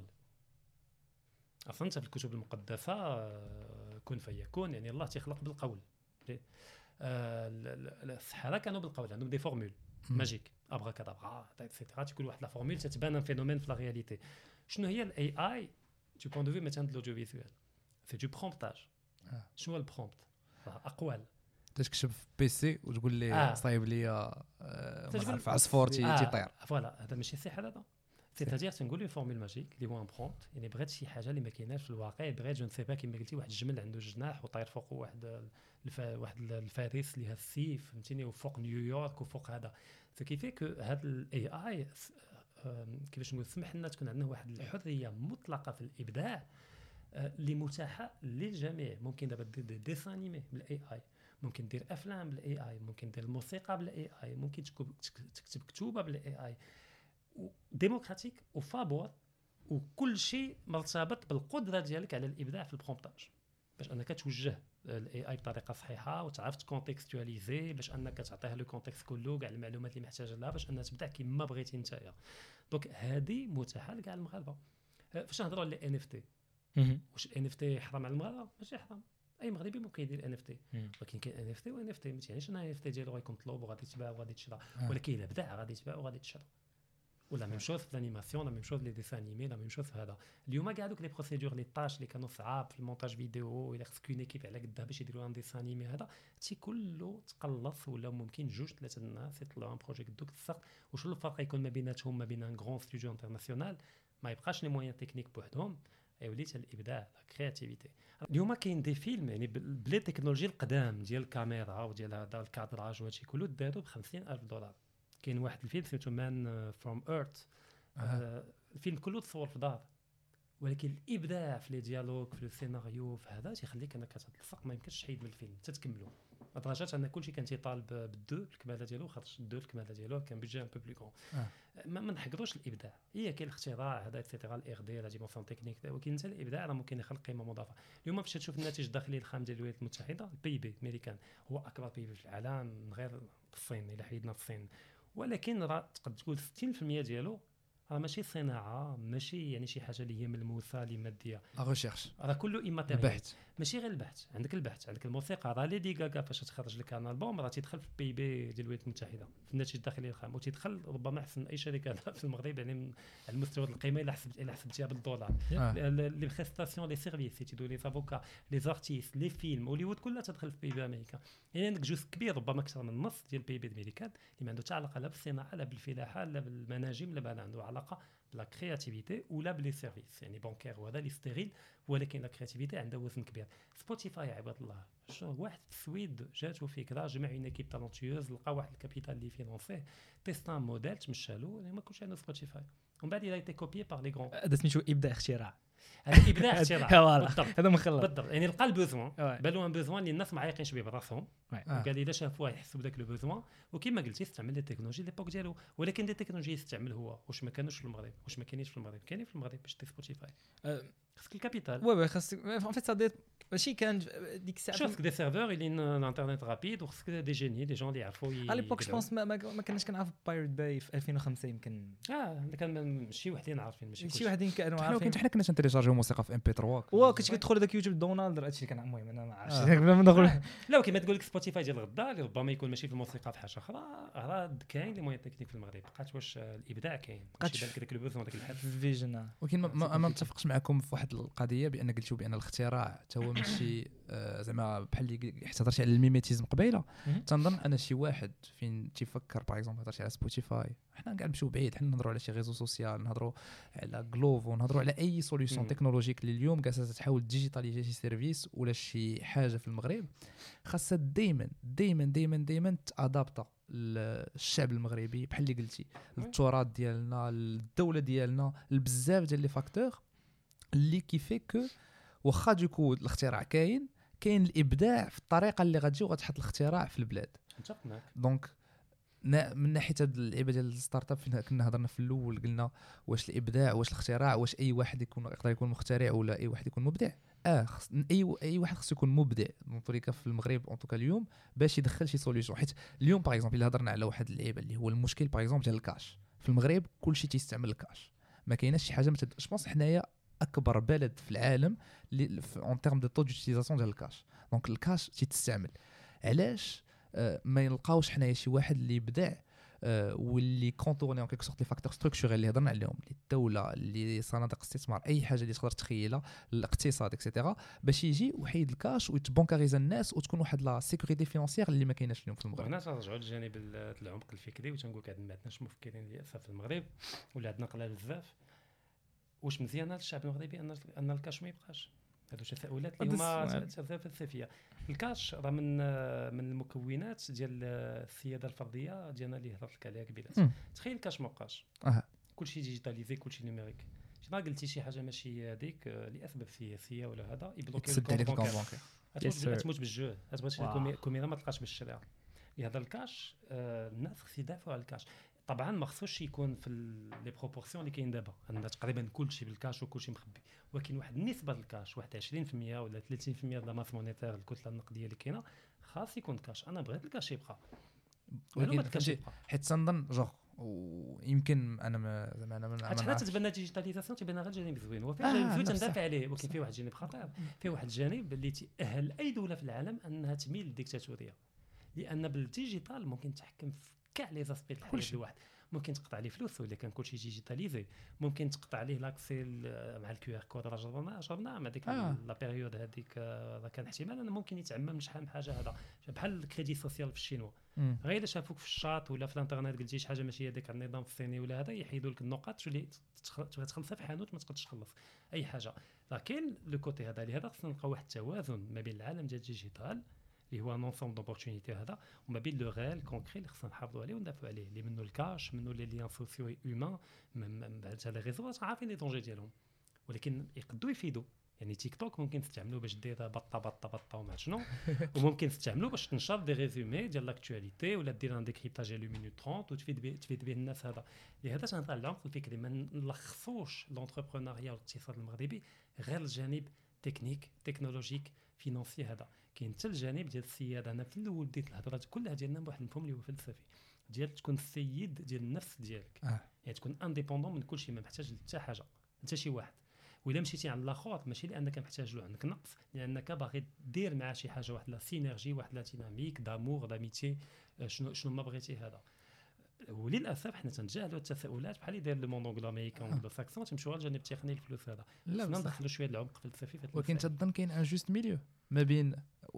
اصلا انت في الكتب المقدسه كن فيكون، يعني الله تيخلق بالقول. السحره كانوا بالقول، عندهم دي فورمول ماجيك ابراكادابرا ايتترا، تكون واحد لا فورمول تتبان ان فينومين في لا رياليتي. شنو هي الاي اي du point de vue مثلا de l'audiovisuel؟ c'est du promptage. آه. شنو هو البرومبت؟ اقوال تكتب في بيسي وتقول لي آه. صايب لي آه في عصفور تيطير. آه. فوالا هذا ماشي السحر هذا. سيتادير تنقول لي فورمول ماجيك اللي هو ان برومبت، يعني بغيت شي حاجه اللي ما كايناش في الواقع، بغيت جو نسي با كيما قلتي واحد الجمل عنده جناح وطاير فوق واحد الف... واحد الفارس اللي ها السيف، فهمتيني، وفوق نيويورك وفوق هذا. سو كيفي كو هذا الاي اي كيفاش نقول سمح لنا تكون عندنا واحد الحريه مطلقه في الابداع اللي متاحه للجميع. ممكن دابا دير دي ديسان انيمي بالاي اي، ممكن دير افلام بالاي اي، ممكن دير الموسيقى بالاي اي، ممكن تكتب كتوبه بالاي اي، ديموكراتيك وفابور، وكل شيء مرتبط بالقدره ديالك على الابداع في البرومبتاج، باش انك توجه الاي اي بطريقه صحيحه وتعرف تكونتكستواليزي، باش انك تعطيه لو كونتكست كله كاع المعلومات اللي محتاجه لها باش انها تبدع كما بغيتي نتايا. دونك هذه متاحه لكاع المغاربه. فاش نهضروا على ان اف تي، واش الان اف تي حرام على المغاربه؟ ماشي حرام، اي مغربي ممكن يدير ان اف تي، ولكن كاين ان اف تي وان اف تي، ما تعنيش ان ان اف تي ديالو غيكون مطلوب وغادي تباع وغادي تشرى، ولكن الا بدع غادي تباع وغادي تشرى. ولا ميم شوز في الانيماسيون، لا ميم شوز لي ديسان انيمي، لا ميم شوز في هذا. اليوم كاع دوك لي بروسيدور لي طاش اللي كانوا صعاب في المونتاج فيديو، الا خصك اون ايكيب على قدها باش يديروا ان ديسان انيمي، هذا تي كله تقلص، ولا ممكن جوج ثلاثه الناس يطلعوا ان بروجي دوك السقط. وشنو الفرق يكون ما بيناتهم ما بين ان غران ستوديو انترناسيونال ما يبقاش لي موين تكنيك بوحدهم، يولي حتى الابداع لا كرياتيفيتي. اليوم كاين دي فيلم يعني بلي تكنولوجي القدام ديال الكاميرا وديال هذا الكادراج وهادشي كله داروا ب خمسين ألف دولار. كاين واحد الفيلم سميتو مان فروم ايرث، آه. الفيلم كله تصور في دار، ولكن الابداع في لي ديالوج في السيناريو في هذا تيخليك انك كتلصق ما يمكنش تحيد من الفيلم حتى تكملو لدرجه ان كلشي كان تيطالب بالدو الكماله ديالو خاطر الدو الكماله ديالو كان بيجي ان بو بلو كون ما ما نحقروش الابداع هي كاين الاختراع هذا ايتترا الاغ دي لا ديمونسيون تكنيك ولكن حتى الابداع راه ممكن يخلق قيمه مضافه اليوم باش تشوف الناتج الداخلي الخام ديال الولايات المتحده البي بي امريكان هو اكبر بي بي في العالم من غير الصين الا حيدنا الصين ولكن راه تقدر تقول ستين بالمئة ديالو راه ماشي صناعه ماشي يعني شي حاجه اللي هي ملموسه اللي ماديه لا ريشيرش راه كله ايماتيريال البحث ماشي غير البحث عندك البحث عندك الموسيقى راه ليدي غاغا فاش تخرج لك ان البوم راه تيدخل في البي بي ديال الولايات المتحده في الناتج الداخلي الخام وتيدخل ربما احسن اي شركه في المغرب يعني على المستوى القيمه الا حسبت الا حسبتيها بالدولار لي بريستاسيون لي سيرفيس تيدو لي افوكا لي زارتيست لي فيلم هوليوود كلها تدخل في البي بي امريكا يعني عندك جزء كبير ربما اكثر من النص ديال البي بي امريكان اللي ما عنده حتى علاقه لا بالصناعه لا بالفلاحه لا بالمناجم لا ما عنده علاقه لا كرياتيفيتي ولا بلي سيرفيس يعني بانكير وهذا اللي ستيريل ولكن لا كرياتيفيتي عندها وزن كبير سبوتيفاي عباد الله شنو واحد في السويد جاتو فكره جمع اون ايكيب تالونتيوز لقى واحد الكابيتال اللي فينونسيه تيستا موديل تمشالو ما كلش عنده سبوتيفاي ومن بعد الى تي كوبيي بار لي غران هذا سميتو ابداع اختراع هذا ابداع اختراع بالضبط هذا مخلط بالضبط يعني لقى البوزوان بالو ان بوزوان اللي الناس ما عايقينش به براسهم قال لي الا شافوه يحسوا بداك البوزوان وكما قلتي استعمل لي تكنولوجي ليبوك ديالو ولكن لي تكنولوجي يستعمل هو واش ما كانوش في المغرب واش ما كاينينش في المغرب كاينين في المغرب باش تي سبوتيفاي خاصك الكابيتال وي وي خاصك ان فيت سا ماشي كان ديك الساعه خاصك دي سيرفور اللي انترنت رابيد وخاصك دي جيني دي جون اللي يعرفوا على ليبوك جو بونس ما ما كناش كنعرف بايرت باي في ألفين وخمسة يمكن اه كان شي وحدين عارفين ماشي شي وحدين كانوا عارفين حنا كنا تنتيليجارجيو موسيقى في ام بي ثلاثة وا كنت كتدخل داك يوتيوب دونالد هادشي اللي كان المهم انا ما عرفتش لا كيما تقول لك سبوتيفاي ديال الغدا اللي ربما يكون ماشي في الموسيقى في حاجه اخرى راه كاين لي موين تكنيك في المغرب بقات واش الابداع كاين ماشي بالك داك البوزون داك الحد فيجن ولكن ما ما متفقش معكم في واحد القضيه بان قلتوا بان الاختراع حتى هو ماشي زعما بحال اللي احتضرتي على الميميتيزم قبيله تنظن انا شي واحد فين تيفكر باغ اكزومبل هضرتي على سبوتيفاي حنا كاع نمشيو بعيد حنا نهضروا على شي ريزو سوسيال نهضروا على غلوفو نهضروا على اي سوليوشن تكنولوجيك اللي اليوم كاع تحاول ديجيتاليزي شي سيرفيس ولا شي حاجه في المغرب خاصها دائما دائما دائما دائما تادابتا الشعب المغربي بحال اللي قلتي التراث ديالنا الدوله ديالنا بزاف ديال لي فاكتور اللي كيفيك واخا دوكو الاختراع كاين كاين الابداع في الطريقه اللي غتجي وغتحط الاختراع في البلاد متفق معك دونك من ناحيه هاد اللعيبه ديال الستارت اب فين كنا هضرنا في الاول قلنا واش الابداع واش الاختراع واش اي واحد يكون يقدر يكون مخترع ولا اي واحد يكون مبدع اه خص اي اي واحد خصو يكون مبدع طريقه في المغرب اون توكا اليوم باش يدخل شي سوليوشن حيت اليوم باغ اكزومبل الا هضرنا على واحد اللعيبه اللي هو المشكل باغ اكزومبل ديال الكاش في المغرب كلشي تيستعمل الكاش ما كايناش شي حاجه متد... جوبونس حنايا اكبر بلد في العالم اللي اون تيرم دو طو دوتيليزاسيون ديال الكاش دونك الكاش تيتستعمل علاش آه ما يلقاوش حنايا شي واحد اللي يبدع آه واللي كونتورني اون كيك سورت لي فاكتور ستركتورال اللي هضرنا عليهم اللي الدوله اللي صناديق الاستثمار اي حاجه اللي تقدر تخيلها الاقتصاد اكسيتيرا باش يجي ويحيد الكاش ويتبونكاريزا الناس وتكون واحد لا سيكوريتي فينانسيير اللي ما كايناش اليوم في المغرب. هنا ترجعوا للجانب العمق الفكري وتنقول لك عندنا عندناش مفكرين اللي في المغرب ولا عندنا قلال بزاف واش مزيانه للشعب المغربي ان ان الكاش ما يبقاش هادو تساؤلات اللي هما تساؤلات فلسفيه. الكاش راه من من المكونات ديال السياده الفرديه ديالنا اللي هضرت لك عليها قبيله. تخيل الكاش ما بقاش أه. كلشي ديجيتاليزي كلشي نيميريك شي ما قلتي شي حاجه ماشي هذيك لاسباب سياسيه ولا هذا يبلوكي الكونت بانكير تموت بالجوع تبغي شي كوميرا ما تلقاش باش تشريها لهذا الكاش. آه الناس خص يدافعوا على الكاش طبعا ما خصوش يكون في لي بروبورسيون اللي كاين دابا عندنا تقريبا كلشي بالكاش وكلشي مخبي ولكن واحد النسبه الكاش واحد عشرين بالمئة ولا ثلاثين بالمئة ديال الماس مونيتير الكتله النقديه اللي كاينه خاص يكون كاش. انا بغيت الكاش يبقى ولكن فهمتي حيت تنظن جوغ ويمكن انا ما زعما انا ما حتى تتبان الديجيتاليزاسيون تيبان غير الجانب الزوين وفي جانب زوين تندافع عليه ولكن فيه واحد الجانب خطير فيه واحد الجانب اللي تاهل اي دوله في العالم انها تميل للديكتاتوريه لان بالديجيتال ممكن تحكم في كاع لي زاسبي ديال الحياه الواحد ممكن تقطع عليه فلوس الا كان كلشي ديجيتاليزي ممكن تقطع عليه لاكسي مع الكيو ار كود راه جربنا جربنا مع ديك آه. لا بيريود هذيك راه كان احتمال انه ممكن يتعمم شحال من حاجه هذا بحال الكريدي سوسيال في الشينوا غير الا شافوك في الشاط ولا في الانترنت قلتي شي حاجه ماشي هذيك على النظام الصيني ولا هذا يحيدوا لك النقاط تولي تخلصها في حانوت ما تقدرش تخلص اي حاجه. لكن لو كوتي هذا لهذا خصنا نلقاو واحد التوازن ما بين العالم ديال الديجيتال اللي هو نونسوم دوبورتونيتي هذا وما بين لو ريال كونكري اللي خصنا نحافظوا عليه وندافعوا عليه اللي منه الكاش منه لي ليان سوسيو هيومان هذا لي ريزو عارفين لي دونجي ديالهم ولكن يقدروا يفيدوا. يعني تيك توك ممكن تستعملوه باش دير بطه بطه بطه وما شنو وممكن تستعملوه باش تنشر دي ريزومي ديال لاكتواليتي ولا دير ان ديكريبتاج ديال مينوت ثلاثين وتفيد به تفيد به الناس. هذا لهذا تنهضر على العمق الفكري. ما نلخصوش لونتربرونيا والاقتصاد المغربي غير الجانب تكنيك تكنولوجيك فينانسي. هذا كاين حتى الجانب ديال السياده. انا في الاول بديت الهضره كلها ديالنا بواحد المفهوم اللي هو فلسفي ديال تكون السيد ديال النفس ديالك. آه. يعني تكون انديبوندون من كل شيء، ما محتاج حتى حاجه حتى شي واحد. وإلا مشيتي عند الاخر ماشي لانك محتاج له، عندك نقص لانك باغي دير مع شي حاجه واحد لا سينرجي واحد لا ديناميك دامور داميتي شنو شنو ما بغيتي. هذا وللاسف حنا تنجاهلوا التساؤلات بحال اللي داير لو موند انجلو امريكان ولا ساكسون تمشيو على الجانب التقني الفلوس. هذا خصنا ندخلوا شويه العمق فلسفي. ولكن تظن كاين ان جوست ميليو ما بين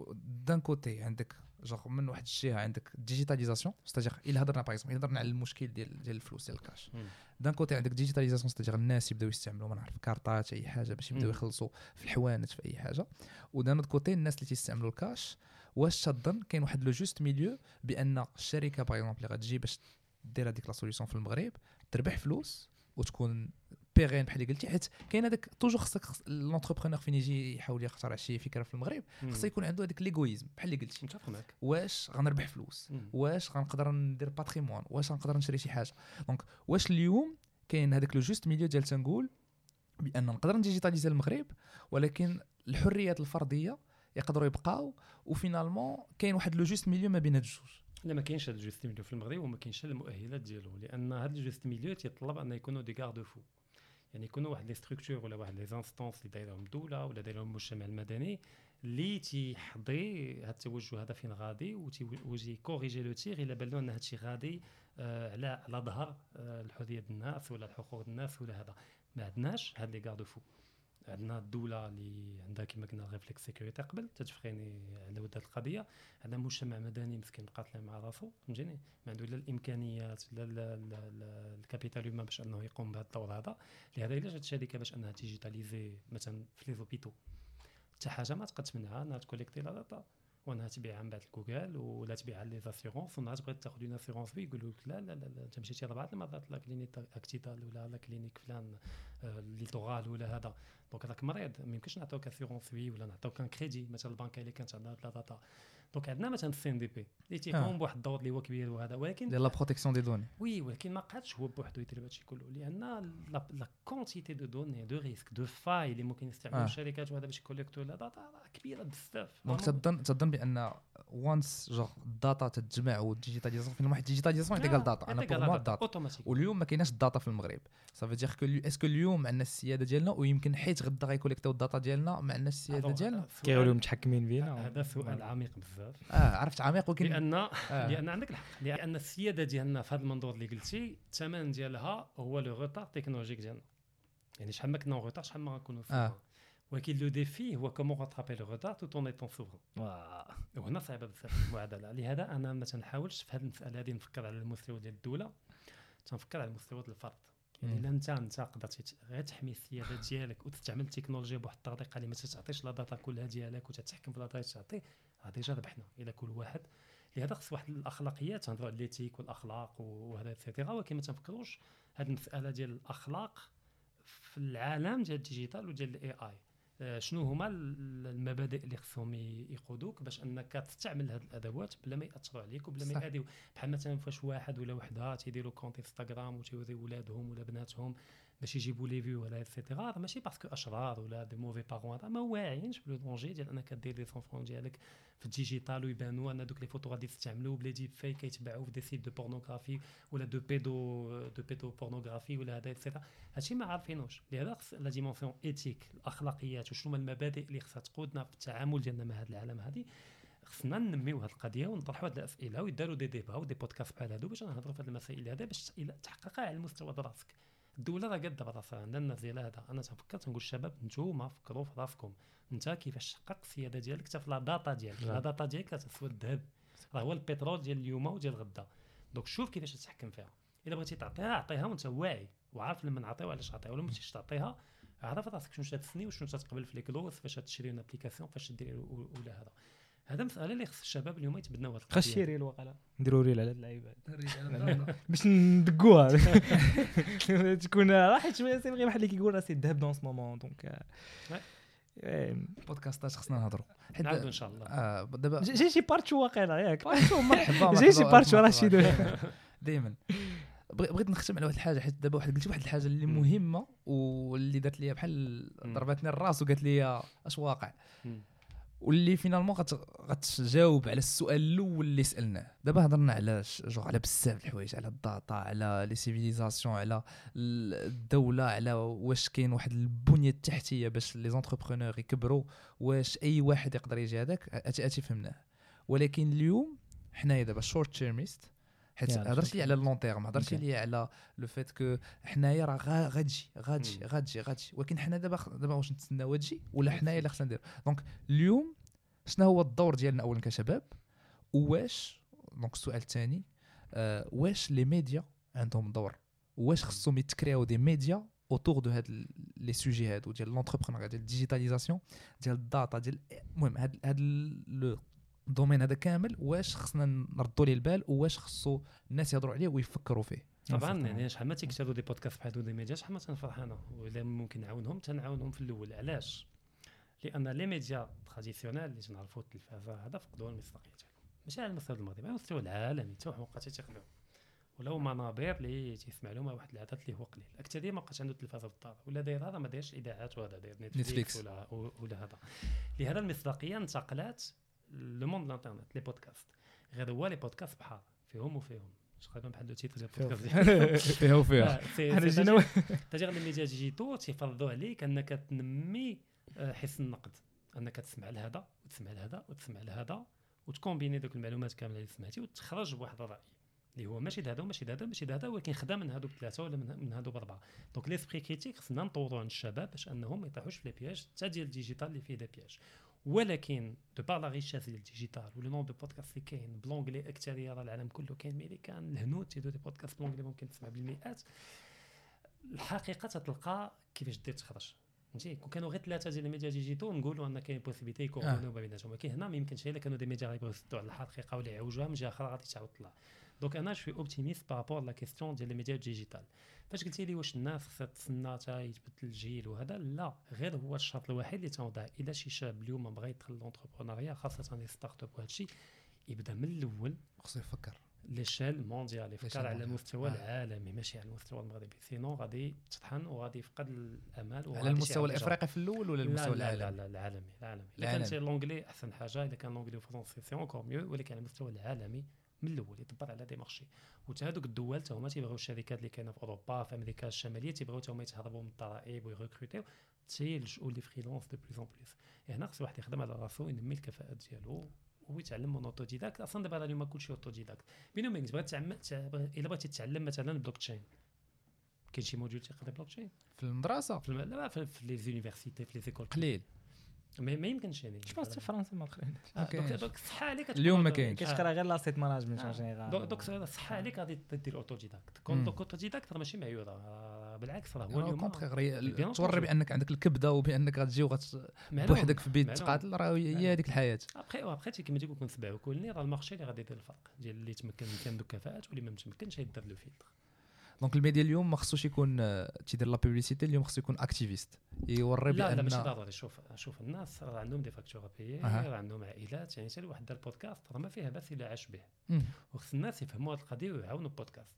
دان كوتي عندك جوغ من واحد الجهه عندك ديجيتاليزاسيون ستاجير الا هضرنا باغ اكزومبل هضرنا على المشكل ديال ديال الفلوس ديال الكاش. دان كوتي عندك ديجيتاليزاسيون ستاجير الناس يبداو يستعملوا ما نعرف كارطات اي حاجه باش يبداو يخلصوا في الحوانت في اي حاجه. ودان كوتي الناس اللي تيستعملوا الكاش واش تظن كاين واحد لو جوست ميليو بان الشركه باغ اكزومبل اللي غتجي باش دير هذيك لا سوليوشن في المغرب تربح فلوس وتكون بيغين بحال اللي قلتي، حيت كاين هذاك توجور خصك لونتربرونور فين يجي يحاول يخترع شي فكره في المغرب خص يكون عنده هذاك ليغويزم بحال اللي قلتي. متفق معك. واش غنربح فلوس مم. واش غنقدر ندير باتريمون واش غنقدر نشري شي حاجه. دونك واش اليوم كاين هذاك لو جوست ميليو ديال تنقول بان نقدر نديجيتاليزي المغرب ولكن الحريات الفرديه يقدروا يبقاو وفينالمون كاين واحد لو جوست ميليو ما بين هاد الجوج. لا ما كاينش هذا الجوست ميليو في المغرب وما كاينش المؤهلات ديالو، لان هذا الجوست ميليو تيطلب ان يكونوا دي غارد فو. يعني يكونوا واحد لي ستركتور ولا واحد لي زانستونس اللي دايرهم الدوله ولا دايرهم المجتمع المدني اللي تيحضي هذا التوجه هذا فين غادي وتيجي كوريجي لو تير الا بان له ان هذا الشيء غادي آه على على ظهر آه الحريه الناس ولا الحقوق الناس ولا هذا. ما عندناش هاد لي غارد فو. عندنا الدوله اللي عندها كما قلنا ريفلكس سيكوريتي قبل تتفخيني على ود هذه القضيه. عندنا مجتمع مدني مسكين قاتل مع راسو فهمتيني، ما عنده لا الامكانيات لا الكابيتال هيومان باش انه يقوم بهذا الدور هذا. لهذا الا جات الشركه باش انها ديجيتاليزي مثلا في لي زوبيتو حتى حاجه ما تقدر تمنعها انها تكوليكتي لا داتا وانها تبيعها من بعد لجوجل ولا تبيعها لي زاسيورونس وانها تبغي تاخذ اون اسيورونس بي يقولوا لك لا لا لا انت مشيتي ربعه المرات لا كلينيك اكتيتال ولا لا كلينيك فلان ليتورال ولا هذا. دونك هذاك مريض ما يمكنش نعطيوك اسيورونس بي ولا نعطيوك ان كريدي مثلا البنكه اللي كانت عندها لا داتا. دونك عندنا مثلا السي ان دي بي اللي تيقوم بواحد الدور اللي هو كبير وهذا، ولكن ديال لا بروتيكسيون دي دوني وي ولكن ما قادش هو بوحدو يدير هادشي كله لان لا كونتيتي دو دوني دو ريسك دو فاي اللي ممكن يستعملوا الشركات وهذا باش يكوليكتو لا داتا كبيره بزاف. دونك تظن تظن بان وانس جوغ الداتا تتجمع والديجيتاليزاسيون فين واحد الديجيتاليزاسيون يعطيك الداتا انا بور مو الداتا واليوم ما كايناش الداتا في المغرب. صافي دير كو اسكو اليوم عندنا السياده ديالنا ويمكن حيت غدا غيكوليكتيو الداتا ديالنا ما عندناش السياده ديالنا كيوليو متحكمين بينا. هذا سؤال عميق بزاف. اه عرفت عميق ولكن لان آه. لان عندك الحق لان السياده ديالنا في هذا المنظور اللي قلتي الثمن ديالها هو لو روتار تكنولوجيك ديالنا. يعني شحال ما كنا روتار شحال ما غنكونوا سوفران. ولكن لو ديفي هو كومون راترابي لو روتار تو طون ايتون سوفران. وهنا صعيبه بزاف المعادله. لهذا انا ما تنحاولش في هذه المساله هذه نفكر على المستوى ديال الدوله، تنفكر على المستوى ديال الفرد. يعني الا انت انت قدرتي غير تحمي السياده ديالك وتستعمل التكنولوجيا بواحد الطريقه اللي ما تتعطيش لا داتا كلها ديالك وتتحكم في لا داتا تعطي هذه جا ربحنا الى كل واحد. لهذا خص واحد الاخلاقيات تنهضروا على ليتيك والاخلاق وهذا سيتيرا، ولكن ما تنفكروش هذه المساله ديال الاخلاق في العالم ديال الديجيتال وديال الاي اي. شنو هما المبادئ اللي خصهم يقودوك باش انك تستعمل هذه الادوات بلا ما ياثروا عليك وبلا ما يأذيو. بحال مثلا فاش واحد ولا وحده تيديروا كونت انستغرام وتيوريو ولادهم ولا بناتهم باش يجيبوا لي فيو ولا ايتترا، هذا ماشي باسكو اشرار ولا دي موفي بارون، هذا ما واعيينش بلو دونجي ديال انك دير لي سونفون ديالك في الديجيتال ويبانوا ان دوك لي فوتو غادي تستعملوا بلا ديب فيك كيتباعوا في دي سيت دو بورنوغرافي ولا دو بيدو دو بيدو بورنوغرافي ولا هذا ايتترا. هادشي ما عارفينوش. لهذا خص لا ديمونسيون ايتيك الاخلاقيات وشنو هما المبادئ اللي خصها تقودنا في التعامل ديالنا مع هذا العالم. هذه خصنا ننميو هذه القضيه ونطرحوا هذه الاسئله ويداروا دي ديبا ودي بودكاست بحال هادو باش نهضروا في هذه المسائل هذه باش تحققها على المستوى ديال راسك. الدوله راه قاده براسها عندنا الناس ديال هذا. انا تنفكر تنقول الشباب نتوما فكروا في راسكم انت كيفاش تحقق السياده ديالك حتى في لا داتا ديالك. لا داتا ديالك كتسوى الذهب، راه هو البترول ديال اليوم وديال غدا. دونك شوف كيفاش تتحكم فيها. الا بغيتي تعطيها عطيها وانت واعي وعارف لما نعطيو علاش عطيها، ولا ماشي تعطيها عارف راسك شنو تتسني وشنو تتقبل في لي كلوز فاش تشري اون ابليكاسيون فاش دير ولا هذا. هذا مساله اللي خص الشباب اليوم يتبناو هذا خاص شي ريل وقيلا نديروا ريل على هاد اللعيبه باش ندقوها تكون راح شويه سي بغي بحال اللي كيقول راسي الذهب دون سو مومون دونك بودكاستات خصنا نهضروا نعاودوا ان شاء الله. اه دابا جي شي بارتو واقيلا ياك مرحبا جي شي بارتو راه شي دائما بغيت نختم على واحد الحاجه حيت دابا واحد قلتي واحد الحاجه اللي مهمه واللي دارت لي بحال ضربتني الراس وقالت لي اش واقع واللي فينالمون غتجاوب على السؤال الاول اللي سالناه. دابا هضرنا على جو على بزاف الحوايج، على الداتا، على لي سيفيليزاسيون، على الدوله، على واش كاين واحد البنيه التحتيه باش لي زونتربرونور يكبروا، واش اي واحد يقدر يجي هذاك اتي اتي فهمناه. ولكن اليوم حنايا دابا شورت تيرميست، حيت هضرت لي على اللون تيرم، هضرت لي على لو فيت كو حنايا راه غادي غادي غادي غادي ولكن حنا دابا دابا واش نتسناو تجي ولا حنايا اللي خصنا ندير. دونك اليوم شنو هو الدور ديالنا اولا كشباب؟ واش دونك السؤال الثاني آه واش لي ميديا عندهم دور؟ واش خصهم يتكرياو دي ميديا اوتور دو هاد لي سوجي هادو ديال لونتربرونور، ديال الديجيتاليزاسيون، ديال الداتا، ديال المهم هاد هاد لو الدومين هذا كامل واش خصنا نردوا ليه البال واش خصو الناس يهضروا عليه ويفكروا فيه؟ طبعا يعني شحال ما تيكتبوا دي بودكاست بحال دي ميديا شحال ما تنفرح انا، ولا ممكن نعاونهم تنعاونهم في الاول. علاش؟ لان لي ميديا تراديسيونيل اللي تنعرفوا التلفازه هذا فقدوا المصداقيه ديالهم، ماشي على المستوى المغربي، على المستوى العالمي حتى حقوقه تيقلعوا، ولو منابر اللي تيسمع لهم واحد العدد اللي هو قليل. الاكثريه ما بقاش عنده التلفازه في الدار، ولا داير هذا ما دايرش اذاعات، وهذا داير نتفليكس ولا ولا هذا. لهذا المصداقيه انتقلت لو موند الانترنت، لي بودكاست. غير هو لي بودكاست بحال فيهم وفيهم تقريبا بحال لو تيتر ديال البودكاست فيها وفيها. حنا جينا تاجر الميديا ديجيتال تيفرضوا عليك انك تنمي حس النقد، انك تسمع لهذا وتسمع لهذا وتسمع لهذا وتكومبيني دوك المعلومات كامله اللي سمعتي وتخرج بواحد الراي اللي هو ماشي هذا وماشي هذا ماشي هذا، ولكن خدام من هذوك ثلاثه ولا من هذوك اربعه. دونك ليسبري كريتيك خصنا نطوروا عند الشباب باش انهم ما يطيحوش في لي بياج حتى ديال الديجيتال اللي فيه دي بياج. ولكن دو بار لا ريشيس ديال الديجيتال ولو نون دو بودكاست اللي كاين بلونغلي اكثريه راه العالم كله كاين، مي كان الهنود تيدو دي بودكاست بلونغلي ممكن تسمع بالمئات. الحقيقه تتلقى كيفاش دير تخرج فهمتي. كون كانوا غير ثلاثه ديال الميديا ديجيتال نقولوا ان كاين بوسيبيتي يكونوا ما بيناتهم، ولكن هنا ما يمكنش الا كانوا دي ميديا غيبغيو يسدوا على الحقيقه ولا يعوجوها من جهه اخرى غادي تعاود تطلع. دونك انا شوي اوبتيميست بارابور لا كيستيون ديال الميديا ديجيتال. فاش قلتي لي واش الناس خصها تسنى حتى يتبدل الجيل وهذا، لا غير هو الشرط الوحيد اللي تنوضع الا شي شاب اليوم بغى يدخل لونتربرونيا خاصه لي ستارت اب وهذا الشيء يبدا من الاول، خصو يفكر ليشيل مونديال، يفكر على المستوى آه. العالمي ماشي على المستوى المغربي، سينو غادي تطحن وغادي يفقد الامال. على المستوى الافريقي في الاول ولا المستوى العالمي؟ لا لا لا العالمي العالمي. اذا كان لونجلي احسن حاجه، اذا كان لونجلي وفرنسي سي اونكور ميو، ولكن على المستوى العالمي من الاول يدبر على دي مارشي. وتا هذوك الدول تا هما تيبغيو الشركات اللي كاينه في اوروبا في امريكا الشماليه تيبغيو تا هما يتهربوا من الضرائب ويركروتيو تيلجؤوا لي فريلانس دو بلوس اون بلوس. هنا خص واحد يخدم على راسو ينمي الكفاءات ديالو ويتعلم من اوتوديداكت. اصلا دابا اليوم كلشي اوتوديداكت بينو وبين بغيت تعلم الا بغيتي تتعلم مثلا البلوك تشين كاين شي موديول تيقرا بلوك تشين في المدرسه في الم... لا في, في لي زونيفرسيتي في لي زيكول قليل ما, ما يمكنش يعني جو بونس في فرنسا ما قريناش. دونك دونك صح عليك اليوم ما كاينش كتقرا غير لاسيت ماناجمنت ان جينيرال. دونك صح عليك غادي دير اوتوديداكت. كون دوك اوتوديداك راه ماشي معيوره، بالعكس راه هو اليوم توري بانك عندك الكبده وبانك غتجي وغت بوحدك في بيت تقاتل، راه هي هذيك الحياه. ابخي وابخي كيما تيقول نسبع وكلني راه المارشي اللي غادي يدير الفرق ديال اللي تمكن عنده كفاءات واللي ما متمكنش يدير لو فيلتر. دونك الميديا اليوم ما خصوش يكون تيدير لا بوبليسيتي، اليوم خصو يكون اكتيفيست يوري بان لا لا ماشي ضروري. شوف شوف الناس راه عندهم دي فاكتور بيي، راه عندهم عائلات، يعني حتى واحد دار بودكاست راه ما فيها بس الا عاش به. وخص الناس يفهموا هذه القضيه ويعاونوا البودكاست.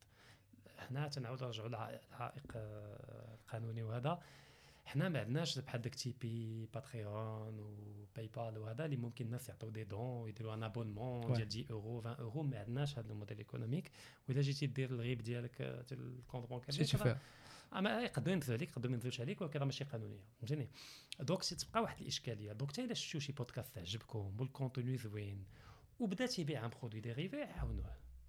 حنا تنعاودوا نرجعوا للعائق القانوني وهذا، حنا ما عندناش بحال داك تيبي باتريون وباي بال وهذا اللي ممكن الناس يعطيو دي دون ويديروا ان ابونمون ديال عشرة اورو عشرين اورو. ما عندناش هذا الموديل ايكونوميك. واذا جيتي دير الغيب ديالك ديال الكونط بانكير اما يقدروا ينزلوا عليك يقدروا ما ينزلوش عليك، ولكن راه ماشي قانونيه فهمتيني. دونك تبقى واحد الاشكاليه. دونك حتى الا شفتوا شي بودكاست عجبكم والكونتوني زوين وبدا تيبيع ان برودوي ديريفي عاونوه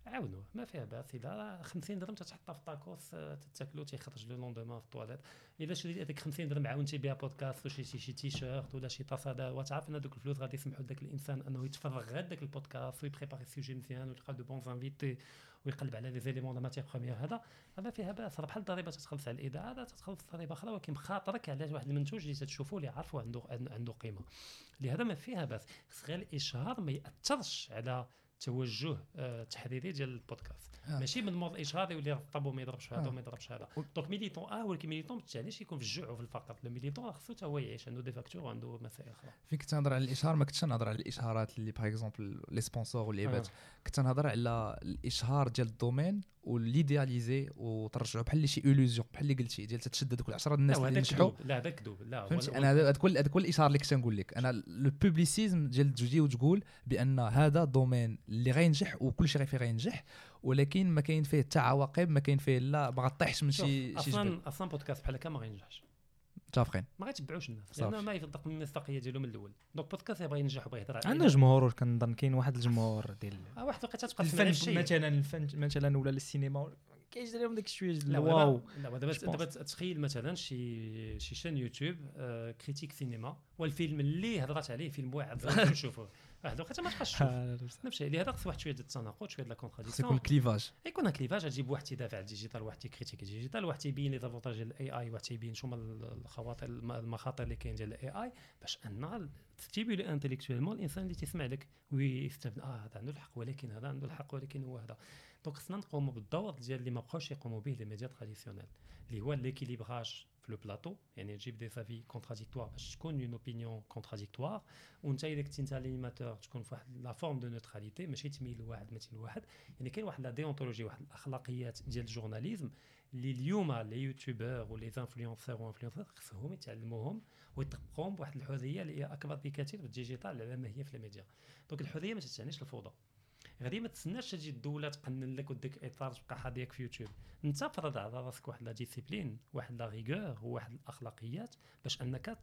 عاونوه ما فيها باس. اذا خمسين درهم تتحطها في طاكوس تتاكلو تيخرج لو لوندومان في الطواليت. اذا شريتي هذيك خمسين درهم عاونتي بها بودكاست ولا شي شي تيشيرت ولا شي طاس، هذا وتعرف ان هذوك الفلوس غادي يسمحوا لذاك الانسان انه يتفرغ غير داك البودكاست ويبريباري السوجي مزيان ويلقى دو بون انفيتي ويقلب على لي زيليمون لا ماتير بروميير. هذا هذا فيها باس. راه بحال الضريبه تتخلص على الاذاعه، هذا تتخلص ضريبه اخرى، ولكن بخاطرك على واحد المنتوج اللي تتشوفوا اللي عارفوا عنده عنده قيمه. لهذا ما فيها باس. غير الاشهار ما ياثرش على توجه آه تحريري ديال البودكاست. آه. ماشي من مور الاشهار يولي رطب وما يضربش هذا وما يضربش هذا. دونك ميليتون اه ولكن ميليتون ما تعنيش يكون في الجوع وفي الفقر. الميليتون خصو حتى هو يعيش، عنده دي فاكتور وعنده مسائل اخرى. فين كنت نهضر على الاشهار ما كنتش نهضر على الاشهارات اللي باغ اكزومبل لي سبونسور واللعيبات. آه. كنت نهضر على الاشهار ديال الدومين وليدياليزي وترجعوا بحال شي اولوزيون بحال اللي قلتي ديال تتشد هذوك العشرة الناس اللي نجحوا. لا هذا كذوب. لا فهمتي انا هذا كل هذا كل الاشهار اللي كنت نقول لك انا لو بوبليسيزم ديال تجي وتقول بان هذا دومين اللي غينجح وكل شيء فيه غينجح، ولكن ما كاين فيه حتى عواقب، ما كاين فيه لا ما غطيحش من شي شي اصلا اصلا بودكاست بحال هكا ما غينجحش. متفقين. ما غيتبعوش الناس لانه ما يصدق من المصداقيه ديالو من الاول. دونك بودكاست يبغى ينجح وبغى يهضر على عنده جمهور. كنظن كاين واحد الجمهور ديال اه واحد الوقيته تبقى الفن مثلا الفن مثلا ولا السينما كيجي لهم داك شويه لا واو. لا دابا دابا تخيل مثلا شي شي شان يوتيوب آه كريتيك سينما والفيلم اللي هضرات عليه فيلم واحد نشوفوه واحد الوقيته ما تبقاش تشوف نفس الشيء. لهذا خص واحد شويه ديال التناقض، شويه ديال لا كونتراديكسيون. يكون كليفاج يكون كليفاج. تجيب واحد تيدافع على الديجيتال، واحد تيكريتيك الديجيتال، واحد تيبين لي زافونتاج ديال الاي اي، واحد تيبين شنو الخواطر المخاطر اللي كاين ديال الاي اي، باش ان تستيبولي انتيليكتويلمون الانسان اللي تسمع لك ويستفد. اه هذا عنده الحق ولكن هذا عنده الحق ولكن هو هذا. دونك خصنا نقوموا بالدور ديال اللي ما بقاوش يقوموا به لي ميديا تراديسيونيل، اللي هو ليكيليبراج في لو بلاطو، يعني تجيب دي سافي كونتراديكتوار باش تكون اون اوبينيون كونتراديكتوار، وانت الا كنتي انت لينيماتور تكون في واحد لا فورم دو نوتراليتي، ماشي تميل لواحد ما تميل لواحد. يعني كاين واحد لا ديونتولوجي، واحد الاخلاقيات ديال الجورناليزم اللي اليوم لي يوتيوبر ولي انفلونسور وانفلونسور خصهم يتعلموهم ويطبقوهم بواحد الحريه اللي هي اكبر بكثير في الديجيتال على ما هي في الميديا. دونك الحريه ما تعنيش الفوضى. غادي ما تسناش تجي الدوله تقنن لك وديك اطار تبقى حاضيك في يوتيوب. انت فرض على راسك واحد لا ديسيبلين، واحد لا ريغور وواحد الاخلاقيات باش انك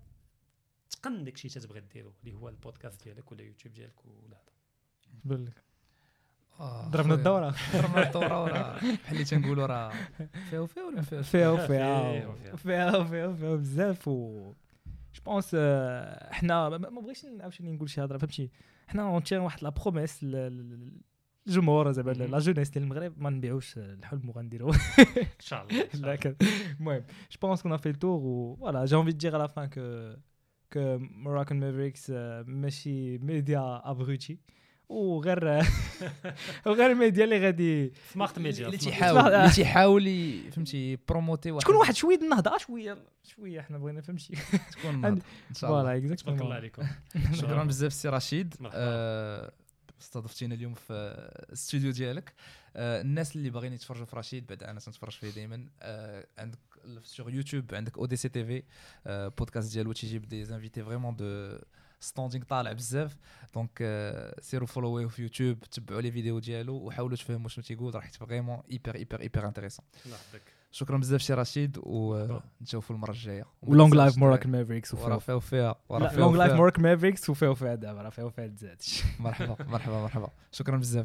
تقن داكشي تتبغي ديرو اللي هو البودكاست ديالك ولا يوتيوب ديالك ولا هذا. بالك ضربنا الدوره ضربنا الدوره ولا بحال اللي تنقولوا راه فيها وفيها ولا فيها فيها فيها فيها فيها فيها بزاف. و جو بونس احنا ما بغيتش عاوتاني نقول شي هضره فهمتي. حنا اونتير واحد لا بروميس الجمهور زعما لا جونيس ديال المغرب ما نبيعوش الحلم وغنديرو ان شاء الله. لكن المهم جو بونس كون في التور و فوالا جي انفي دير على فان كو كو موراكن مافريكس ماشي ميديا ابروتي وغير وغير الميديا اللي غادي سمارت ميديا اللي تيحاول اللي تيحاول فهمتي بروموتي واحد تكون واحد شويه النهضه شويه شويه حنا بغينا فهمتي تكون ان شاء الله. فوالا اكزاكتومون. تبارك الله عليكم. شكرا بزاف سي رشيد استضفتينا اليوم في الاستوديو ديالك. الناس اللي باغيين يتفرجوا في رشيد بعد انا تنتفرج فيه دائما عندك سور يوتيوب عندك او دي سي تي في بودكاست ديالو تيجيب دي انفيتي فريمون دو ستاندينغ طالع بزاف. دونك سيروا فولوويه في يوتيوب، تبعوا لي فيديو ديالو وحاولوا تفهموا شنو تيقول، راح يبقى فريمون ايبر ايبر ايبر انتريسون. الله يحفظك. شكرا بزاف سي رشيد ونشوفوا المره الجايه. ولونج لايف موراكن مافريكس وراه فيها وفيها لونج لايف موراكن مافريكس وفيها وفيها دابا راه فيها وفيها تزاد. مرحبا مرحبا مرحبا شكرا بزاف.